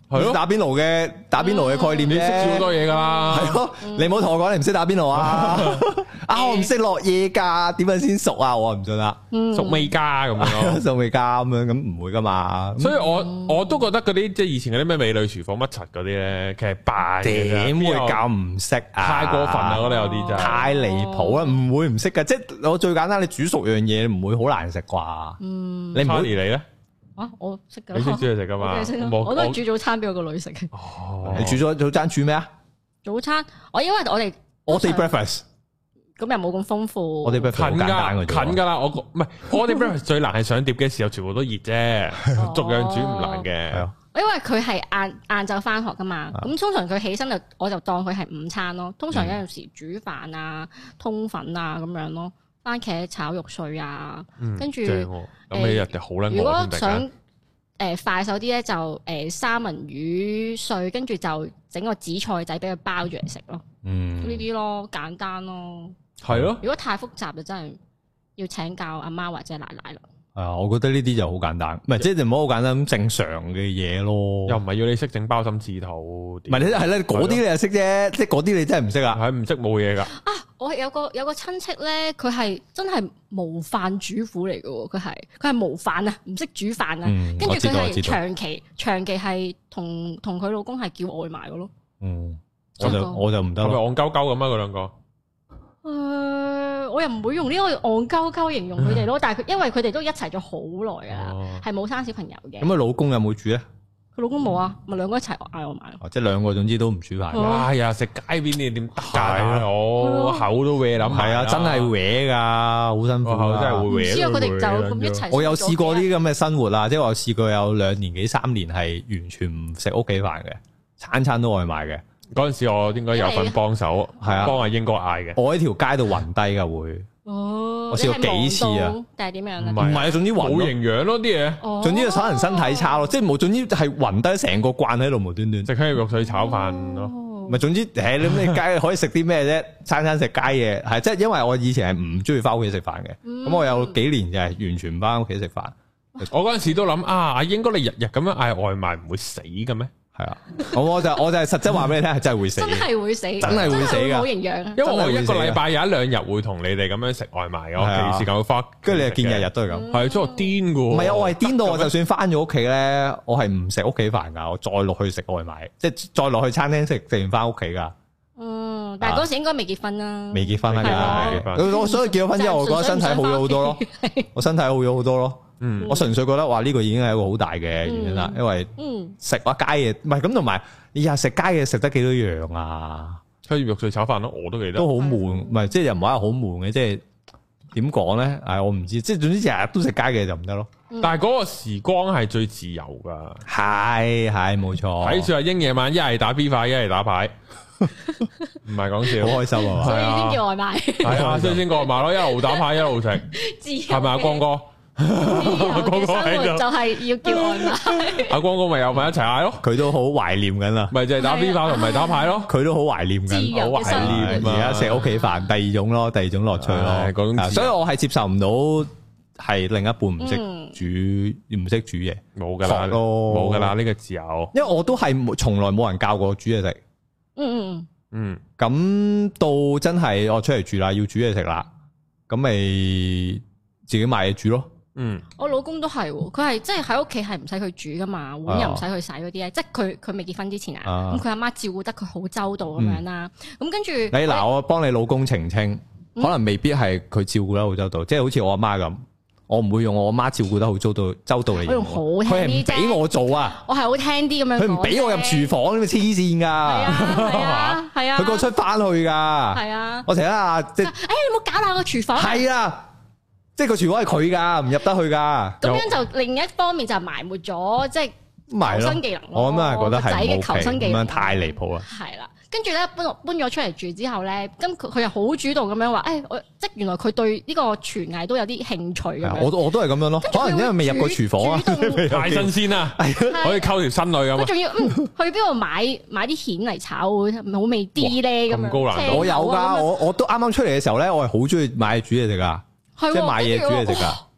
係咯，打邊爐嘅概念啫， 你識煮好多嘢噶啦， 係咯，你唔好同我講你唔識打邊爐啊！我唔識落嘢噶，點樣先熟啊？我唔信啦， 熟未加咁樣咯， 熟未加咁樣，咁唔會噶嘛。 所以我都覺得嗰啲即係以前嗰啲咩美女廚房乜柒嗰啲咧，其實扮嘅， 點會教唔識啊？ 太過分啦！我覺得有啲真係太離譜啦，唔會唔識噶。即係我最簡單，你煮熟樣嘢唔會好難食啩？你唔會你咧？ 我識噶， 你識煮嘢食噶嘛？ 我都係煮早餐俾我個女食嘅。 你煮咗早餐煮咩啊？ 早餐因為我哋 breakfast 咁又冇咁豐富。 我哋 breakfast 近噶啦，我唔係我哋 breakfast 最難係上碟嘅時候，全部都熱啫，逐樣煮唔難嘅。 因為佢係晏晝翻學噶嘛，咁通常佢起身我就當佢係午餐咯。通常有陣時煮飯啊、通粉啊咁樣咯。番茄炒肉碎啊，跟住咁你日日好撚餓。 如果想快手啲咧，就三文魚碎，跟住就整個紫菜仔俾佢包住嚟食咯。呢啲咯，簡單咯。 係咯。 如果太複雜就真係要請教阿媽或者奶奶啦。 係啊，我覺得呢啲就好簡單，唔係即係唔好好簡單咁正常嘅嘢咯。 又唔係要你識整包心刺肚， 唔係你係咧嗰啲你又識啫，即係嗰啲你真係唔識啊。 係唔識冇嘢噶。 我有個親戚咧，佢係真係無飯主婦嚟嘅，佢係無飯啊，唔識煮飯啊，跟住佢係長期係同佢老公係叫外賣嘅咯。 我就唔得咯。 係咪戇鳩鳩咁啊？嗰兩個？ 我又唔會用呢個戇鳩鳩形容佢哋咯，但係因為佢哋都一齊咗好耐噶啦，係冇生小朋友嘅。 咁佢老公有冇煮咧？ 佢老公冇啊，咪兩個一齊嗌我買咯。 即係兩個總之都唔煮飯。 哎呀，食街邊你點得㗎？我口都搲諗。係啊， 真係搲㗎，好辛苦。 真係會搲。 之後佢哋就咁一齊。 我有試過啲咁嘅生活啊，即係我試過有2年幾3年係完全唔食屋企飯嘅，餐都外賣嘅。 嗰陣時我應該有份幫手，係啊，幫阿英哥嗌嘅。 我喺條街度暈低㗎會。我試過幾次啊？ 定係點樣？ 唔係啊，總之暈冇營養咯啲嘢， 總之就可能身體差咯，即係冇，總之係暈低成個慣喺度無端端。 食香肉水炒飯咯， 咪總之你街可以食啲咩啫？餐食街嘢係，即係因為我以前係唔中意翻屋企食飯嘅，咁我有幾年就係完全唔翻屋企食飯。 我嗰陣時都諗阿英哥你日日咁樣嗌外賣唔會死嘅咩？係啊， 我就係實質話俾你聽，係真係會死，真係會死， 真係會死噶， 冇營養。 因為我一個禮拜有1-2日會同你哋咁樣食外賣嘅，我其時間會翻， 跟住你又見日日都係咁， 係真係癲噶。 唔係啊，我係癲到我就算翻咗屋企咧，我係唔食屋企飯噶，我再落去食外賣，即係再落去餐廳食完翻屋企噶。 但係嗰時應該未結婚啦， 未結婚啦，未結婚。我所以結咗婚之後，我覺得身體好咗好多咯，我身體好咗好多咯。我純粹覺得話呢個已經係一個好大嘅原因啦，因為食話街嘢，唔係咁同埋你日食街嘢食得幾多樣啊？ 香葉肉碎炒飯咯，我都記得都好悶，唔係即係又唔係話好悶嘅，即係點講咧？我唔知，即係總之日日都食街嘅就唔得咯。 但係嗰個時光係最自由噶， 係冇錯。 睇住阿英夜晚一係打 B 牌，一係打牌，唔係講笑， 好開心啊！ 所以先叫外賣， 係啊，所以先叫外賣咯，一路打牌一路食，係咪阿光哥？ 阿光哥喺度就係要叫外賣， 阿光哥咪又咪一齊嗌咯， 佢都好懷念緊啦， 咪就係打 B 牌同埋打牌咯， 佢都好懷念緊，好懷念而家食屋企飯，第二種咯，第二種樂趣咯，所以我係接受唔到係另一半唔識煮唔識煮嘢， 冇噶啦，冇噶啦呢個自由， 因為我都係從來冇人教過煮嘢食，咁到真係我出嚟住啦，要煮嘢食啦，咁咪自己買嘢煮咯。 我老公都係，佢係即係喺屋企係唔使佢煮噶嘛，碗又唔使佢洗嗰啲咧，即係佢未結婚之前啊，咁佢阿媽照顧得佢好周到咁樣啦。咁跟住你嗱，我幫你老公澄清，可能未必係佢照顧得好周到，即係好似我阿媽咁，我唔會用我阿媽照顧得好周到嚟。 我用好聽啲啫， 佢係唔俾我做啊， 我係好聽啲咁樣。佢唔俾我入廚房，咁咪黐線噶，係啊，佢個出翻去噶，係啊，我成日啊，即係，你唔好搞爛個廚房， 係啊。即係個廚房係佢噶，唔入得去噶。 咁樣就另一方面就埋沒咗，即係求生技能。 我咁係覺得係仔嘅求生技能， 咁樣太離譜啦。 係啦，跟住咧搬咗出嚟住之後咧，咁佢又好主動咁樣話，即係原來佢對呢個廚藝都有啲興趣咁樣。我都係咁樣咯，可能因為未入過廚房啊， 太新鮮啦，可以溝條新女咁。 佢仲要去邊度買啲蜆嚟炒，好味啲咧咁樣。 咁高難度， 我有噶，我都啱啱出嚟嘅時候咧，我係好中意買煮嘢食噶。即係買嘢煮嘢食噶，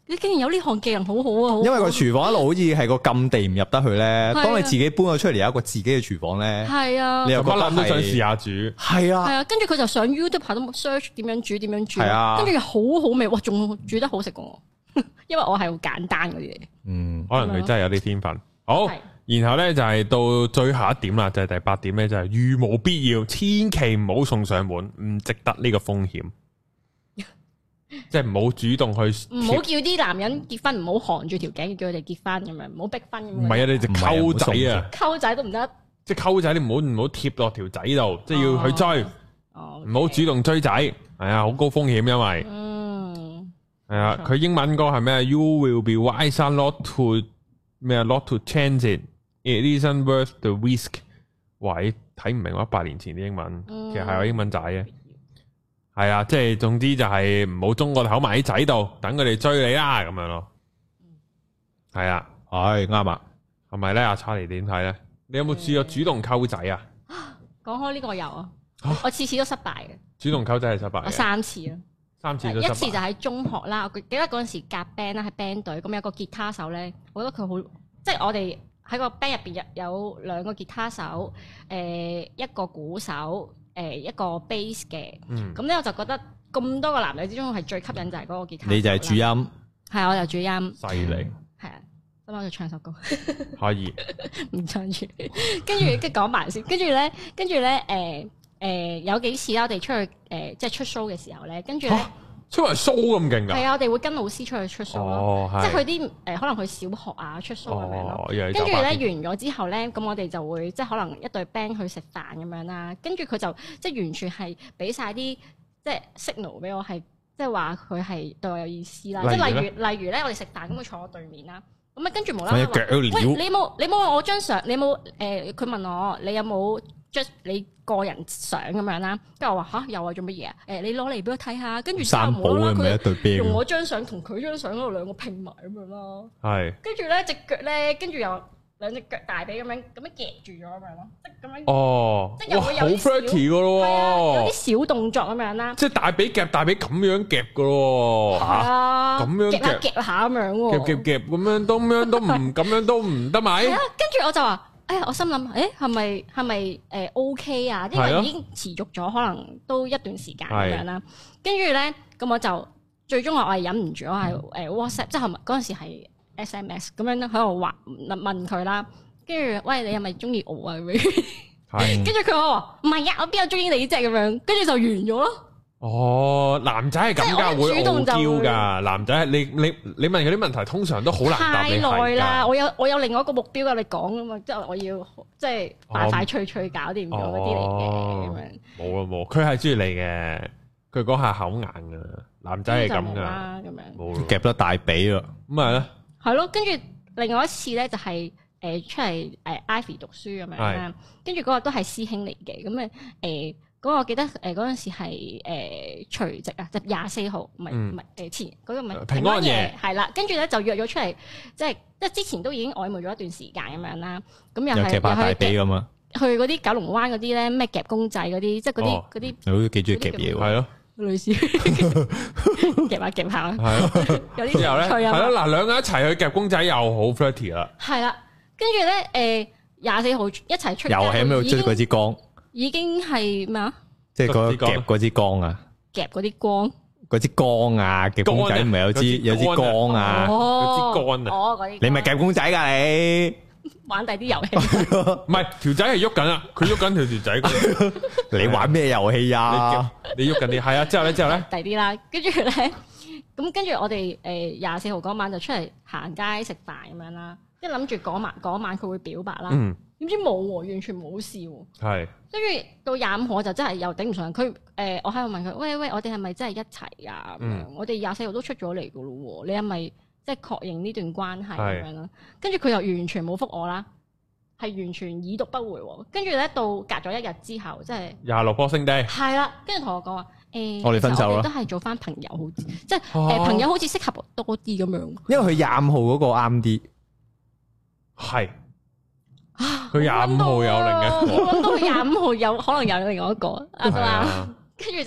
你竟然有呢項技能，好好啊！ 因為個廚房一路好似係個禁地唔入得去咧。當你自己搬咗出嚟有一個自己嘅廚房咧， 係啊， 你又覺得都想試下煮， 係啊， 係啊。跟住佢就上 YouTube 排到 search 點樣煮，係啊，跟住又好好味，哇！仲煮得好食過我，因為我係好簡單嗰啲嘢。 可能佢真係有啲天分。好，然後咧就係到最後一點啦，就係第8點咧，就係如無必要，千祈唔好送上門，唔值得呢個風險。即係唔好主動去， 唔好叫啲男人結婚，唔好含住條頸叫佢哋結婚咁樣，唔好逼婚咁樣。 唔係啊，你直溝仔啊， 溝仔都唔得。即係溝仔，你唔好貼落條仔度，即係要去追，唔好主動追仔，係啊，好高風險，因為係啊，佢英文歌係咩 ？You will be wiser not to 咩啊 ？Not to chance it. It isn't worth the risk。喂，睇唔明我100年前啲英文，其實係我英文仔嘅。係啊，即係總之就係唔好中個頭埋喺仔度，等佢哋追你啦，咁樣咯。係啊， 係啱啊， 係咪咧？阿查理點睇咧？你有冇試過主動溝仔啊？ 講開呢個有啊，我次次都失敗嘅。 主動溝仔係失敗， 我3次啦 ，3次都失敗。 一次就喺中學啦，我記得嗰陣時夾 band 啦，係 band 隊，咁有個吉他手咧，我覺得佢好，即係我哋喺個 band 入邊有2個吉他手，一個鼓手。一個 bass 嘅，咁咧我就覺得咁多個男女之中係最吸引就係嗰個吉他手。你就係主音，係我就主音， 犀利， 係啊，咁我就唱首歌， 可以唔唱住，跟住講埋先，跟住咧，有幾次啦，我哋出去即係出 show 嘅時候咧，跟住咧。 出嚟 show 咁勁㗎？係啊，我哋會跟老師出去出 show 咯，即係去啲可能去小學啊出 show 咁樣咯。跟住咧完咗之後咧，咁我哋就會即係可能一隊 band 去食飯咁樣啦。跟住佢就即係完全係俾晒啲即係 signal 俾我，係即係話佢係對我有意思啦。即係例如咧，我哋食飯咁佢坐我對面啦，咁啊跟住無啦啦話，喂，你冇我張相，你冇佢問我你有冇 just 你個人相咁樣啦，跟住我話吓有啊，做乜嘢啊？你攞嚟俾我睇下，跟住之後冇啦，佢用我張相同佢張相嗰度2個拼埋咁樣咯。係，跟住咧隻腳咧，跟住又2隻腳大髀咁樣夾住咗咁樣咯，即係咁樣。哦，即係又會有啲 flirty 噶咯， 有啲小動作咁樣啦。 即係大髀夾大髀咁樣夾噶咯， 吓咁樣夾下咁樣， 夾咁樣都唔咁樣都唔得咪？係啊， 跟住我就話。我心諗，係咪OK 啊？因為已經持續咗，可能都一段時間咁樣啦。跟住咧，咁我就最終我係忍唔住，我係WhatsApp，即係嗰陣時係 SMS 咁樣喺度話問佢啦。跟住，喂，你係咪中意我啊？跟住佢話唔係啊，我邊有中意你啫咁樣。跟住就完咗咯。哦，男仔係咁噶，會傲嬌噶。男仔係你問佢啲問題，通常都好難答你。太耐啦，我有另外一個目標噶，你講啊嘛，即係我要即係快快脆脆搞掂咗嗰啲嚟嘅咁樣。冇啊冇，佢係中意你嘅，佢嗰下口硬噶。男仔係咁噶，咁樣冇夾得大髀咯，咁咪咧。係咯，跟住另外一次咧就係出嚟Ivy 讀書咁樣啦，跟住嗰個都係師兄嚟嘅，咁嗰個我記得嗰陣時係除夕啊，就24號，唔係前嗰個唔係平安夜，係啦，跟住咧就約咗出嚟，即係之前都已經曖昧咗一段時間咁樣啦，咁又係大髀咁啊，去嗰啲九龍灣嗰啲咧咩夾公仔嗰啲，即係嗰啲，你好幾中意夾嘢喎，係咯，類似夾下，係有啲之後咧，係咯，嗱兩個一齊去夾公仔又好 flirty 啦，係啦，跟住咧24號一齊出，又喺邊度追嗰支光。已經係咩啊？即係夾嗰支光啊！夾嗰啲光，嗰支光啊！夾公仔唔係有支光啊！有支杆啊！哦，嗰啲你咪夾公仔噶你？玩第啲遊戲，唔係條仔係喐緊啊！佢喐緊條仔，你玩咩遊戲啊？你喐緊啲係啊！之後咧，第啲啦，跟住咧，咁跟住我哋24號嗰晚就出嚟行街食飯咁樣啦，即係諗住嗰晚佢會表白啦。點知冇喎，完全冇事喎。係，跟住到25號我就真係又頂唔順佢。我喺度問佢，喂，我哋係咪真係一齊啊？我哋24號都出咗嚟噶咯，你係咪即係確認呢段關係咁樣啦？跟住佢又完全冇覆我啦，係完全已讀不回。跟住咧到隔咗1日之後，即係26 Boxing Day。係啦，跟住同我講話，我哋分手啦，都係做翻朋友好啲，即係朋友好似適合多啲咁樣。因為佢25號嗰個啱啲，係。佢25號有另一個，我諗到佢25號有可能有另外一個，係嘛？跟住就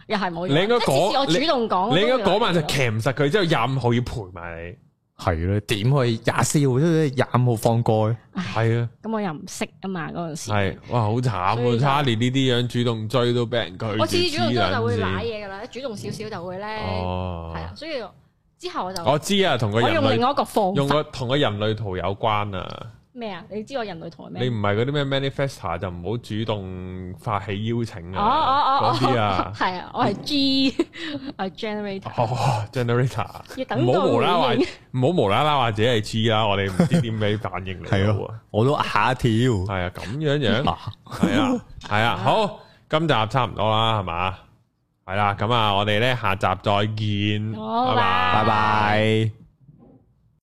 又係冇。 你應該講， 我主動講， 你應該嗰晚就騎唔實佢，之後25號要陪埋你。 係咯，點可以24號即係25號放過？ 係啊， 咁我又唔識啊嘛，嗰陣時係哇，好慘啊！差連呢啲樣主動追都俾人拒絕， 我次次主動追就會瀨嘢噶啦，主動少少就會咧，係啊，所以之後我知啊， 同個人類我用另外一個方法， 同個人類圖有關啊。咩啊？你知我人類圖係咩？ 你唔係嗰啲咩 manifestor 就唔好主動發起邀請啊！嗰啲啊，係啊，我係 G， 我係 generator。 哦 ，generator。 要等唔好無啦啦話自己係 G 啦，我哋唔知點俾反應嚟。 係咯，我都嚇一跳。 係啊，咁樣。係啊，好，今集差唔多啦，係嘛？係啦，咁啊，我哋咧下集再見。 好， 拜拜。